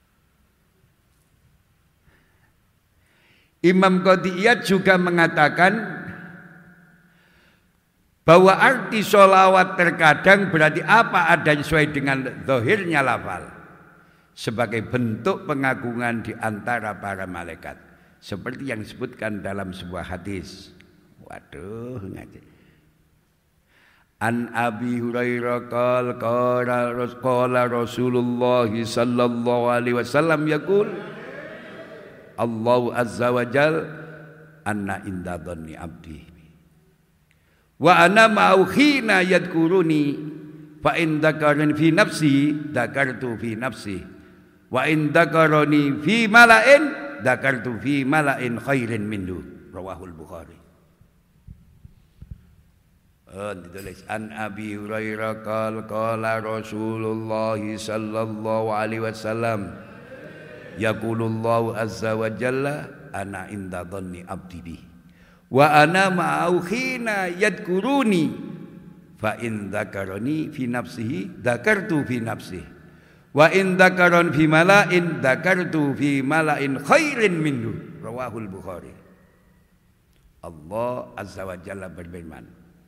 Imam Qadiyat juga mengatakan bahwa arti sholawat terkadang berarti apa adanya sesuai dengan zahirnya lafal, sebagai bentuk pengagungan di antara para malaikat, seperti yang disebutkan dalam sebuah hadis. Waduh, ngaji. An Abi Hurairah qala Rasulullah sallallahu alaihi wasallam yaqul Allah azza wa jal anna inda dhanni abdi wa ana ma'u khina yadkuruni fa in dzakarani fi nafsi dzakartu fi nafsi wa in dzakarani fi mala'in dzakartu fi mala'in khairin minhu. Rawahul Bukhari. Ditulis an Abi Hurairah qala Rasulullah sallallahu alaihi wasallam yaqulullahu azza wa jalla ana inda dhanni abdi bi wa ana ma'au khina yadkuruni fa in dzakarani fi nafsihi dzakartu fi nafsihi wa in dzakaron fi mala'in dzakartu fi mala'in khairin minhu. Rawahul Bukhari. Allah azza wa jalla berfirman,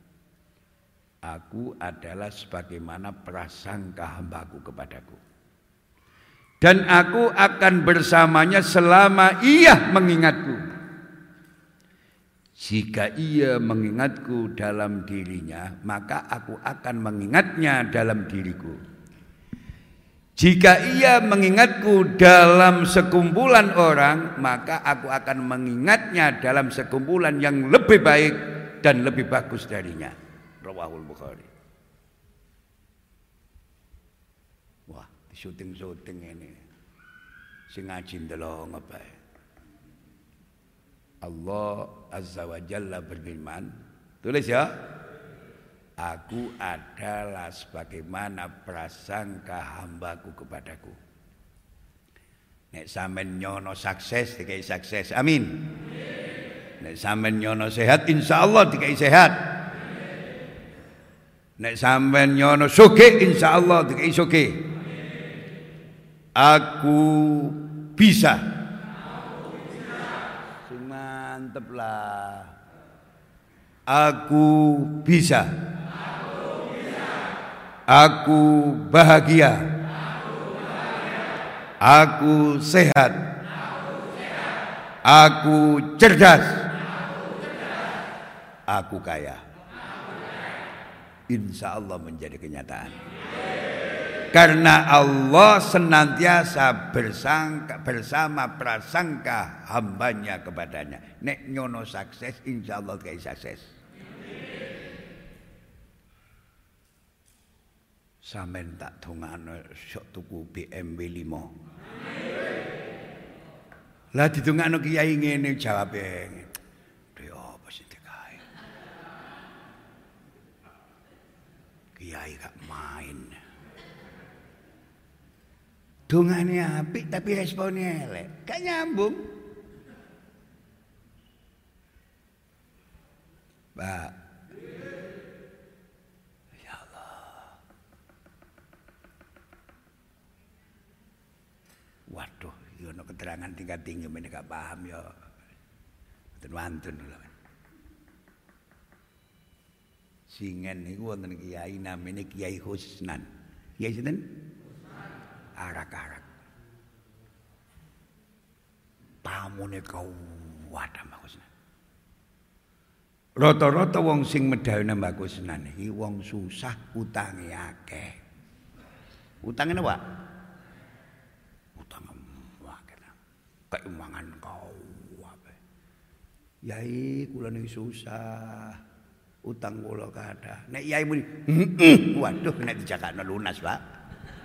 aku adalah sebagaimana prasangka hambaku kepadaku, dan aku akan bersamanya selama ia mengingatku. Jika ia mengingatku dalam dirinya, maka aku akan mengingatnya dalam diriku. Jika ia mengingatku dalam sekumpulan orang, maka aku akan mengingatnya dalam sekumpulan yang lebih baik dan lebih bagus darinya. Rawahul Bukhari. Wah, di syuting ini sing ngaji ndelok ngapain? Allah azza wa jalla berfirman, tulis ya, aku adalah sebagaimana prasangka hambaku kepadaku. Nek sampean nyono sukses dikai sukses, amin. Nek sampean nyono sehat, insyaallah dikai sehat. Nek sampean nyono sugih, insyaallah dikai sugih. Aku bisa. Mantep lah. Aku bisa. Aku bahagia. Aku sehat. Aku cerdas. Aku kaya. Insya Allah menjadi kenyataan. Karena Allah senantiasa bersama prasangka hambanya kepadanya. Nek nyono sukses, insya Allah kayak sukses. Sampeyan tak dongakno sok tuku BMW 5. Lah didongakno kiai ngene jawabe. Dhewe apa sing dikae? Kiai gak main. Dongane apik tapi responnya elek. Gak nyambung. Pak. Ya Allah. Waduh, ya ono keterangan tingkat tinggi men gak paham ya. Mboten wantun lho. Singen niku wonten kiai namine Kiai Husnan. Kiai sinten? Arak-arak. Pamune kuwat Mbak Kusnan. Rata-rata wong sing medhawi Mbak Kusnan iki wong susah utange akeh. Utange napa? Utang akeh. Kayak mangan kuwabe. Yai kula niki susah. Utang kula kathah. Nek yai muni, waduh nek dijakakno lunas, Pak.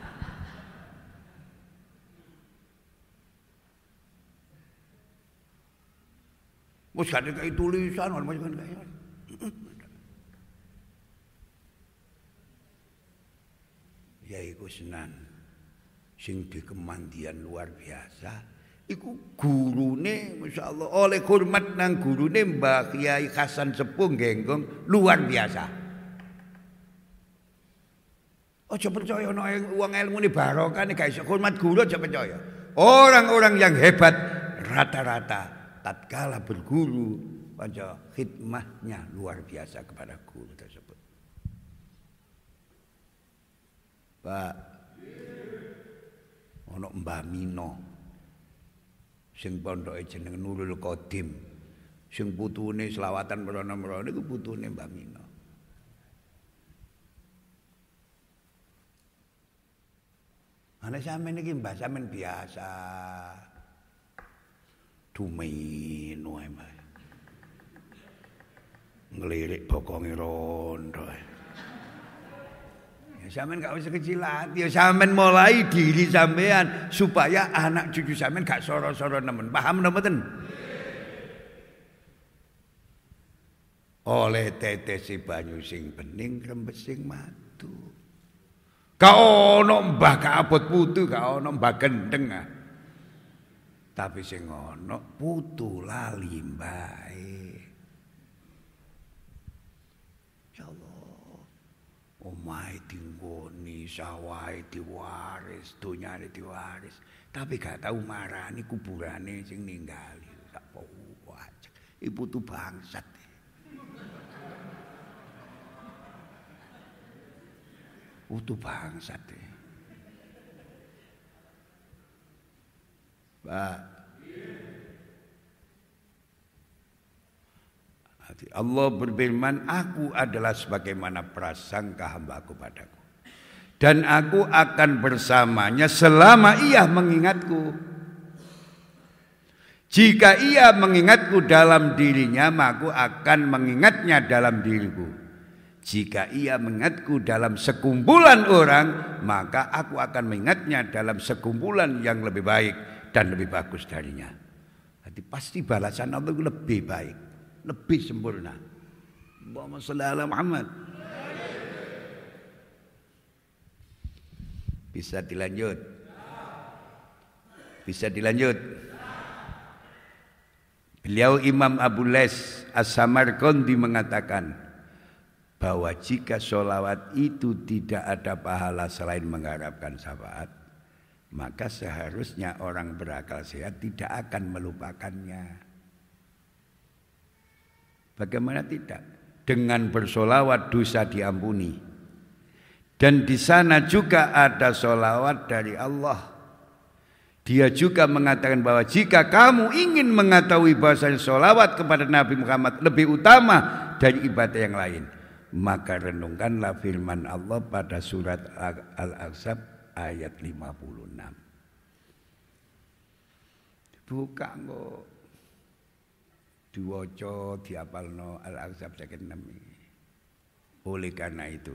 Wis gak kayak tulisan macam kayak. Ya iku Senan sing dikemandian luar biasa. Iku gurune masyaallah oleh hormat nang gurune Mbah Kiai Hasan Sepuh Genggong luar biasa. Aja percaya ana wong ilmune barokah nek gak iso hormat guru aja percaya. Orang-orang yang hebat rata-rata tatkala berguru pada khidmahnya luar biasa kepada guru tersebut. Pak, ono Mbah Mino sing pondoke jeneng Nurul Qadim, sing putune selawatan mrono-mrono iku putune Mbah Mino. Ana sampeyan iki Mbah sampeyan biasa. Dumeno ae Mbah. Ngelirik bokonge rondo. Ya sampean gak usah kecil hati, ya sampean mulai diri sampean supaya anak cucu sampean gak soro-soro nemen. Paham mboten? Oleh tetesi banyu sing bening rembes sing madu. Gak ono mbah gak abot putu, gak ono mbah gendeng. Tapi sing ono putu lali mbae. Ya Allah. Omahe dinggoni, sawahe diwaris, donyane diwaris. Tapi gak tau marani kuburane sing ninggali. Tak wajak. Iku putu bangsat. Putu bangsat. Pak. Allah berfirman, aku adalah sebagaimana prasangka hamba-Ku padaku. Dan aku akan bersamanya selama ia mengingatku. Jika ia mengingatku dalam dirinya, maka aku akan mengingatnya dalam diriku. Jika ia mengingatku dalam sekumpulan orang, maka aku akan mengingatnya dalam sekumpulan yang lebih baik dan lebih bagus darinya. Jadi pasti balasan Allah lebih baik, lebih sempurna. Allahumma shalli ala Muhammad. Bisa dilanjut? Bisa dilanjut? Beliau Imam Abu Les As-Samarqandi mengatakan bahwa jika sholawat itu tidak ada pahala selain mengharapkan syafaat, maka seharusnya orang berakal sehat tidak akan melupakannya. Bagaimana tidak? Dengan bersolawat dosa diampuni. Dan di sana juga ada solawat dari Allah. Di Dia juga mengatakan bahwa jika kamu ingin mengetahui bahwasanya sholawat kepada Nabi Muhammad lebih utama dari ibadah yang lain, maka renungkanlah firman Allah pada surat Al-Ahzab ayat 56. Buka kok diwaca diapalno Al-Ahzab 56. Oleh karena itu,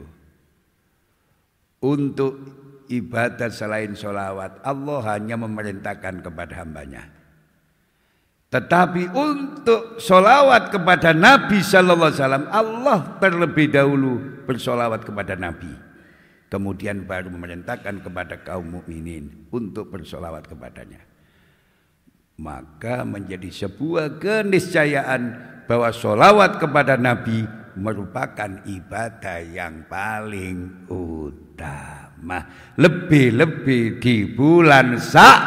untuk ibadat selain sholawat, Allah hanya memerintahkan kepada hambanya. Tetapi untuk sholawat kepada Nabi Sallallahu Alaihi Wasallam, Allah terlebih dahulu bersolawat kepada Nabi. Kemudian baru memerintahkan kepada kaum mukminin untuk bersolawat kepadanya. Maka menjadi sebuah keniscayaan bahwa sholawat kepada Nabi merupakan ibadah yang paling utama, lebih-lebih di bulan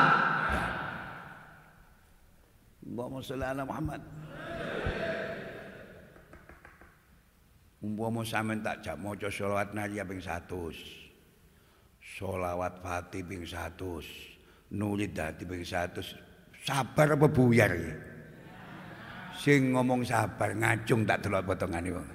Allahumma sholli ala Muhammad. Umpama sampean tak jak maca sholawat nariya ping 100, sholawat Fatih ping 100, Nulid Dadi ping 100, sabar apa buyar ya? Sing ngomong sabar ngacung tak delok potongane wong.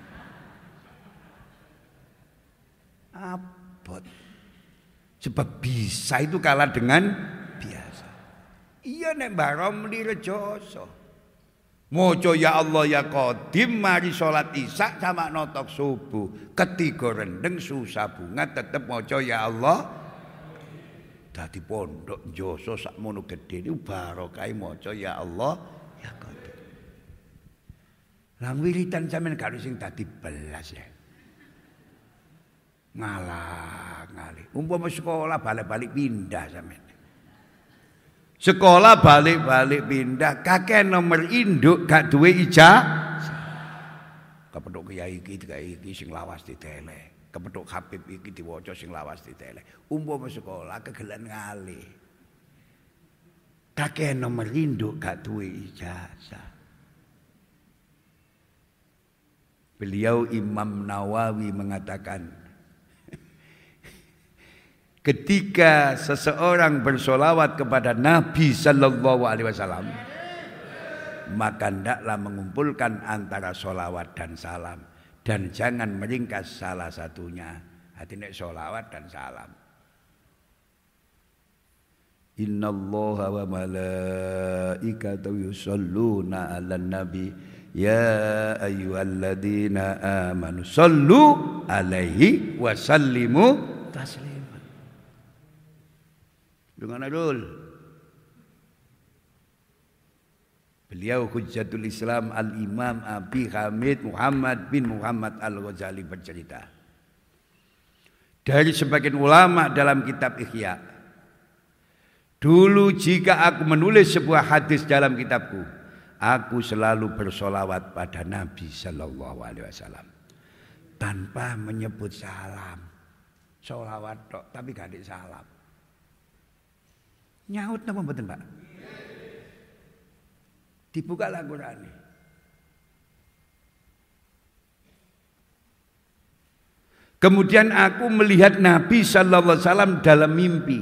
Abot. Sebab bisa itu kalah dengan biasa. Iya nek Mbah Romli Rejoso. Moco ya Allah ya Qadim mari salat Isya sama notok subuh. Ketiga rendeng susah bunga tetep moco ya Allah. Dadi pondok Joso sakmono gedhe niku barokah moco ya Allah ya Qadim. Lah wiritan sampean gak sing dadi belas ya. Ngalah ngalih. Umpama sekolah balik-balik pindah sampean. Sekolah balik-balik pindah, kakek nomor induk gak duwe ijazah. Kepethuk kiai iki sing lawas diteleh. Kepethuk Habib iki diwaca sing lawas diteleh. Umpama sekolah kegelen ngalih. Kakek nomor induk gak duwe ijazah. Beliau Imam Nawawi mengatakan, ketika seseorang bersolawat kepada Nabi Sallallahu Alaihi Wasallam, maka hendaklah mengumpulkan antara solawat dan salam, dan jangan meringkas salah satunya. Artinya solawat dan salam. Inna Allah wa malaikatahu yusholluna 'alan nabi ya ayyuhalladzina amanu shollu 'alaihi wa sallimu taslima. Dengan adul. Beliau Hujjatul Islam Al-Imam Abi Hamid Muhammad bin Muhammad Al-Ghazali bercerita, dari sebagian ulama dalam kitab Ihya, dulu jika aku menulis sebuah hadis dalam kitabku, aku selalu bersolawat pada Nabi Sallallahu Alaihi Wasallam tanpa menyebut salam. Solawat tok tapi gak ada salam. Nyaut napa mboten, Pak? Dibuka Al-Qur'an. Kemudian aku melihat Nabi Sallallahu Alaihi Wasallam dalam mimpi.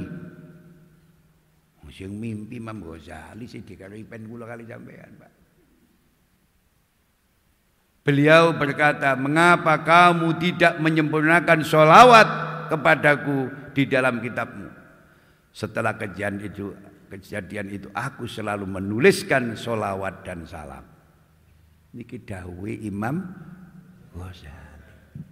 Sing mimpi Imam Ghazali sing dikaripen kula kali sampean, Pak. Beliau berkata, mengapa kamu tidak menyempurnakan sholawat kepadaku di dalam kitabmu? Setelah kejadian itu aku selalu menuliskan sholawat dan salam. Niki dawuhe Imam Ghazali.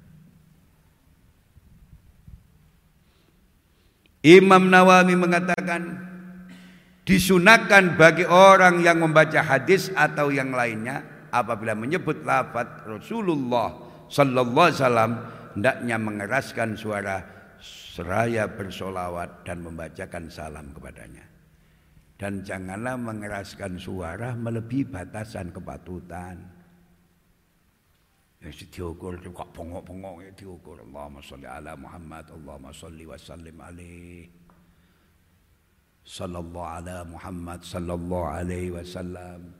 Imam Nawawi mengatakan, disunahkan bagi orang yang membaca hadis atau yang lainnya apabila menyebut lafaz Rasulullah Sallallahu Alaihi Wasallam hendaknya mengeraskan suara seraya bersolawat dan membacakan salam kepadanya. Dan janganlah mengeraskan suara melebihi batasan kepatutan. Ya diukur kok bongok-bongok ya diukur. Allahumma sholli ala Muhammad, Allahumma sholli wa sallim alaihi. Sallallahu ala Muhammad sallallahu alaihi wasallam.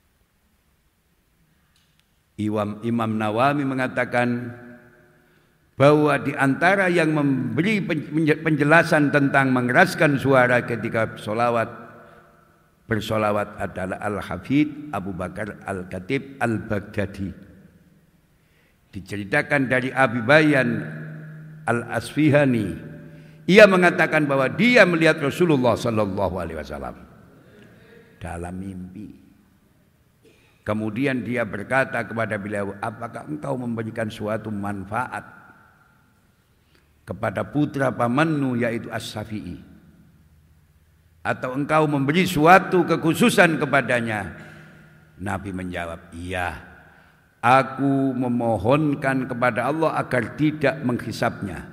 Imam Nawawi mengatakan, bahwa di antara yang memberi penjelasan tentang mengeraskan suara ketika bersolawat adalah Al-Hafidh Abu Bakar Al-Khatib Al-Baghdadi. Diceritakan dari Abi Bayan Al-Asfihani, ia mengatakan bahwa dia melihat Rasulullah sallallahu alaihi wasallam dalam mimpi. Kemudian dia berkata kepada beliau, apakah engkau memberikan suatu manfaat kepada putra pamanmu yaitu As-Safi'i, atau engkau memberi suatu kekhususan kepadanya? Nabi menjawab, iya, aku memohonkan kepada Allah agar tidak menghisapnya.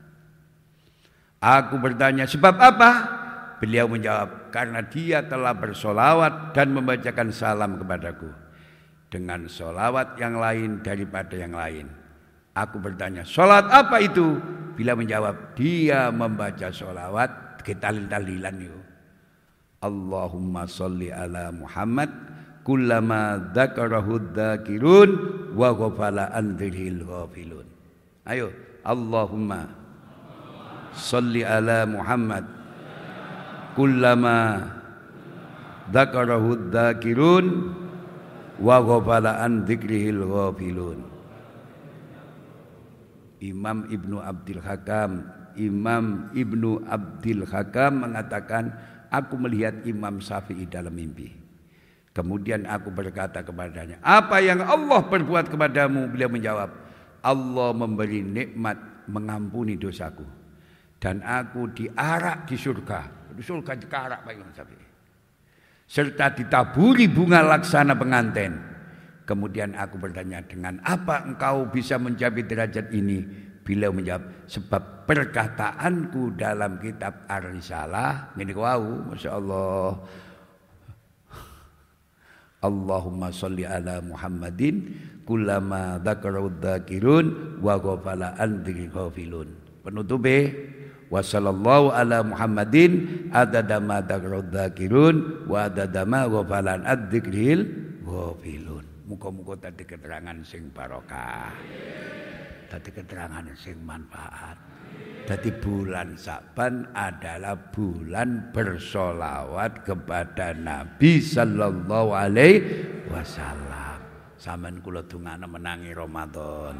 Aku bertanya, sebab apa? Beliau menjawab, karena dia telah bersolawat dan membacakan salam kepadaku dengan solawat yang lain daripada yang lain. Aku bertanya, solat apa itu? Beliau menjawab, dia membaca solawat ketalil-talilan itu. Allahumma sholli ala Muhammad kullama dzakarahu dzakirun wa ghafala an dzikrihi ghafilun. Ayo, Allahumma sholli ala Muhammad kullama dzakarahu dzakirun wa ghafala an dzikrihi ghafilun. Imam Ibnu Abdil Hakam mengatakan, aku melihat Imam Syafi'i dalam mimpi. Kemudian aku berkata kepadanya, apa yang Allah perbuat kepadamu? Beliau menjawab, Allah memberi nikmat mengampuni dosaku, dan aku diarak di surga. Di surga dikarak Pak Imam Syafi'i, serta ditaburi bunga laksana pengantin. Kemudian aku bertanya, dengan apa engkau bisa mencapai derajat ini? Beliau menjawab, sebab perkataanku dalam kitab Ar-Risalah. Ini kau, Masya Allah. Allahumma sholli ala Muhammadin kullama dzakarahu dzakirun wa ghafala an dzikrihi ghafilun. Penutupnya, wa sallallahu ala Muhammadin adada ma dzakarahu dzakirun wa adada ma ghafala an dzikrihi ghafilun. Muga-muga tadi keterangan sing barokah, tadi keterangan sing manfaat. Tadi bulan Sa'ban adalah bulan bersolawat kepada Nabi sallallahu alaihi wasallam. Sampeyan kula dongane menangi Ramadan.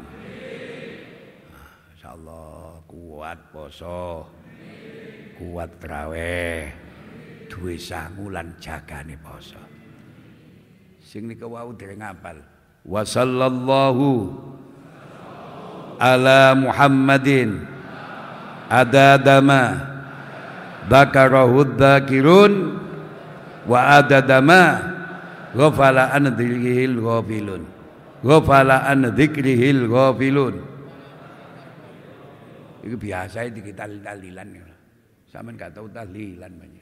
Insyaallah kuat poso, kuat traweh, duwe sangulan jagane poso. Sing nika wau dereng ngapal. Wa sallallahu ala Muhammadin adadama dzakarahu dzakirun wa adadama ghafala an dzikrihil ghafilun. Ghafala an dzikrihil ghafilun. Iku biasa iki tahlilan. Sampeyan gak tau tahlilan banyak.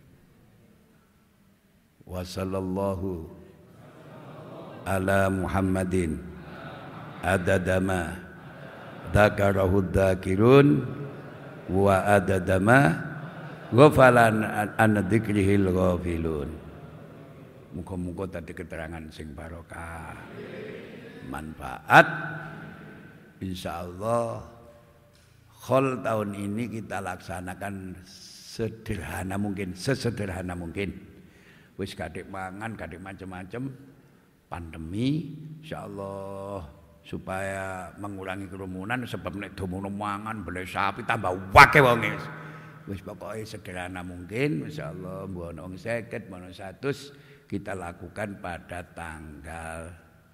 Wa sallallahu ala Muhammadin adadama dzakarahu dzakirun wa adadama ghafalan an dzikrihil ghafilun. Muga-muga tadi keterangan sing barokah, manfaat. Insyaallah khol tahun ini kita laksanakan sederhana mungkin, sesederhana mungkin. Wis kadek mangan, kadek macam-macam. Pandemi, insyaallah supaya mengurangi kerumunan, sebab nek domono mangan beli sapi tambah wake wonge. Wis pokoke sederhana mungkin, insyaallah mbono wong 50, mbono 100 kita lakukan pada tanggal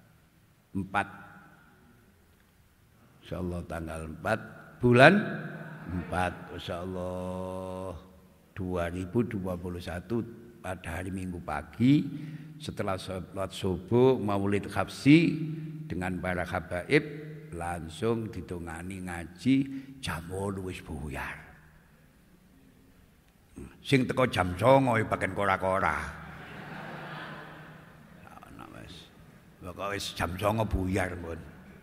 4. Insyaallah tanggal 4 bulan 4 insyaallah 2021 pada hari Minggu pagi. Setelah sholat subuh maulid khafsi dengan para habaib, langsung ditungani ngaji jam 8 wis buyar. Sing teko jam 09.00 paken kora-kora. Ana wis. Pokoke wis jam 09.00 buyar pun.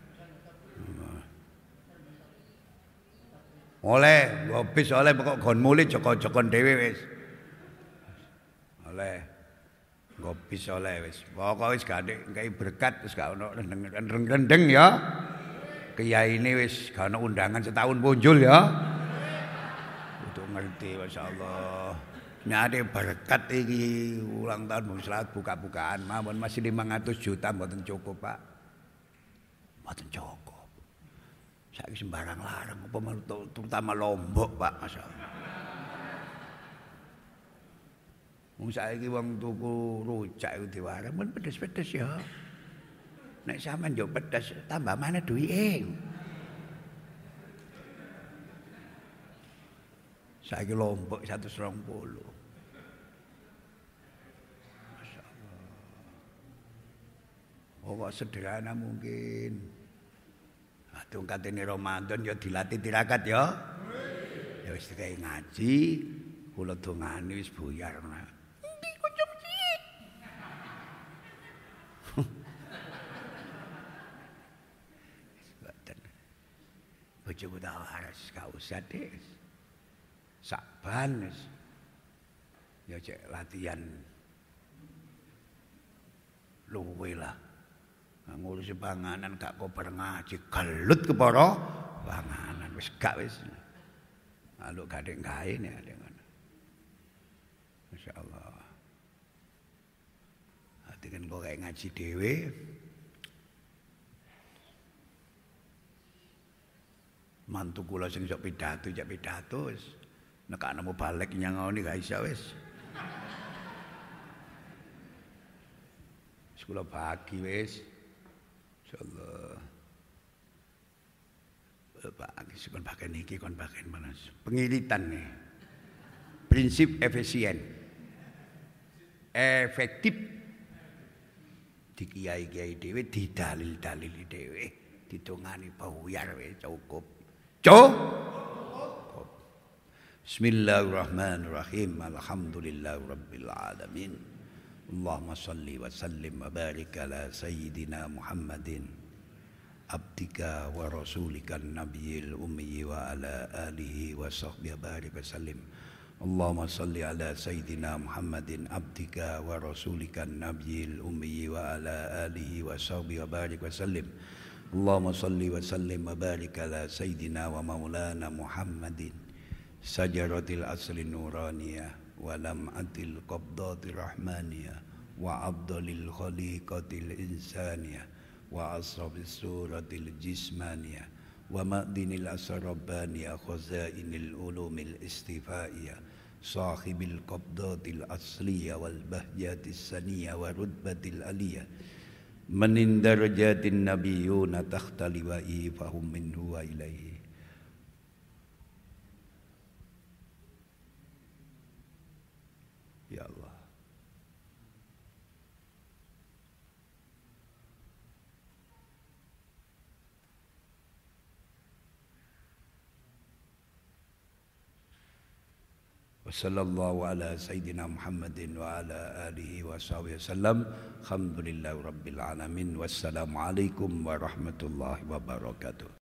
Oleh ngobis oleh pokok gon mulih joko-jokon dhewe wis. Oleh ngopi soleh wis. Pokoke wis gak ndek berkat wis gak ono rendeng-rendeng ya. kiyaine wis gak ana undangan setahun punjul ya. Kudu ngerti masyaallah. Nyari berkat iki ulang tahun Bung Slamet buka-bukaan mawon masih 500 juta mboten cukup, Pak. Mboten cukup. Saiki sembarang larang apa terutama Lombok, Pak, masyaallah. Wong saiki wong tuku rujak iku diwara men pedes-pedes ya. Nek sampean yo pedes tambah mana duwike. Saiki Lombok 120. Masyaallah. Oh, sederhana mungkin. Aduh katene Ramadan ya dilatih tirakat ya. Ya wis dikai ngaji, kula dongane wis buyar. Endi kunjung cilik. Bojoku tak waras gak usah deh. Sakban wis. Ya cek latihan luwe lah. Ngurusi panganan gak kobar ngaji gelut kepara panganan wis gak wis. Lalu gadek gawe nek dengan. Masyaallah. Ati kan kok kayak ngaji dhewe. Mantu kula sing sok pidato jak pidato wis nekakno balik nyangoni gak iso wis. Wis kula bagi wis. Insyaallah. Bagi kon bagian iki kon bagian manas. Pengiritan nih. Prinsip efisien. Efektif di kiai-kiai dhewe didalil-dalili dhewe ditungani buyar wis cukup. Bismillahirrahmanirrahim. Alhamdulillahirabbil alamin. Allahumma shalli wa sallim wa barik ala sayyidina Muhammadin abdika wa rasulika nabiyil ummi wa ala alihi wa sahbihi barik wa sallim. Allahumma shalli ala sayyidina Muhammadin abdika wa rasulika nabiyil ummi wa ala alihi wa sahbihi barik wa sallim. Allahumma shalli wa sallim wa barik ala sayyidina wa maulana Muhammadin sajaratil asli nuraniyah wa lam'atil qabdatir rahmaniyah wa afdalil khaliqatil insaniyah wa asrabis suratil jismaniyah wa ma'dinil asrabaniyah khazainil ulumil istifaiyah sahibil qabdatil asliyah wal bahjatis saniyah wa rutbatil aliyah man darajatin nabiyyuna tahta liwa'i fahum minhu wa ilaihi. Ya Allah. Wa sallallahu ala sayyidina Muhammadin wa ala alihi wa sahbihi wasallam. Alhamdulillahi rabbil alamin. Wassalamualaikum warahmatullahi wabarakatuh.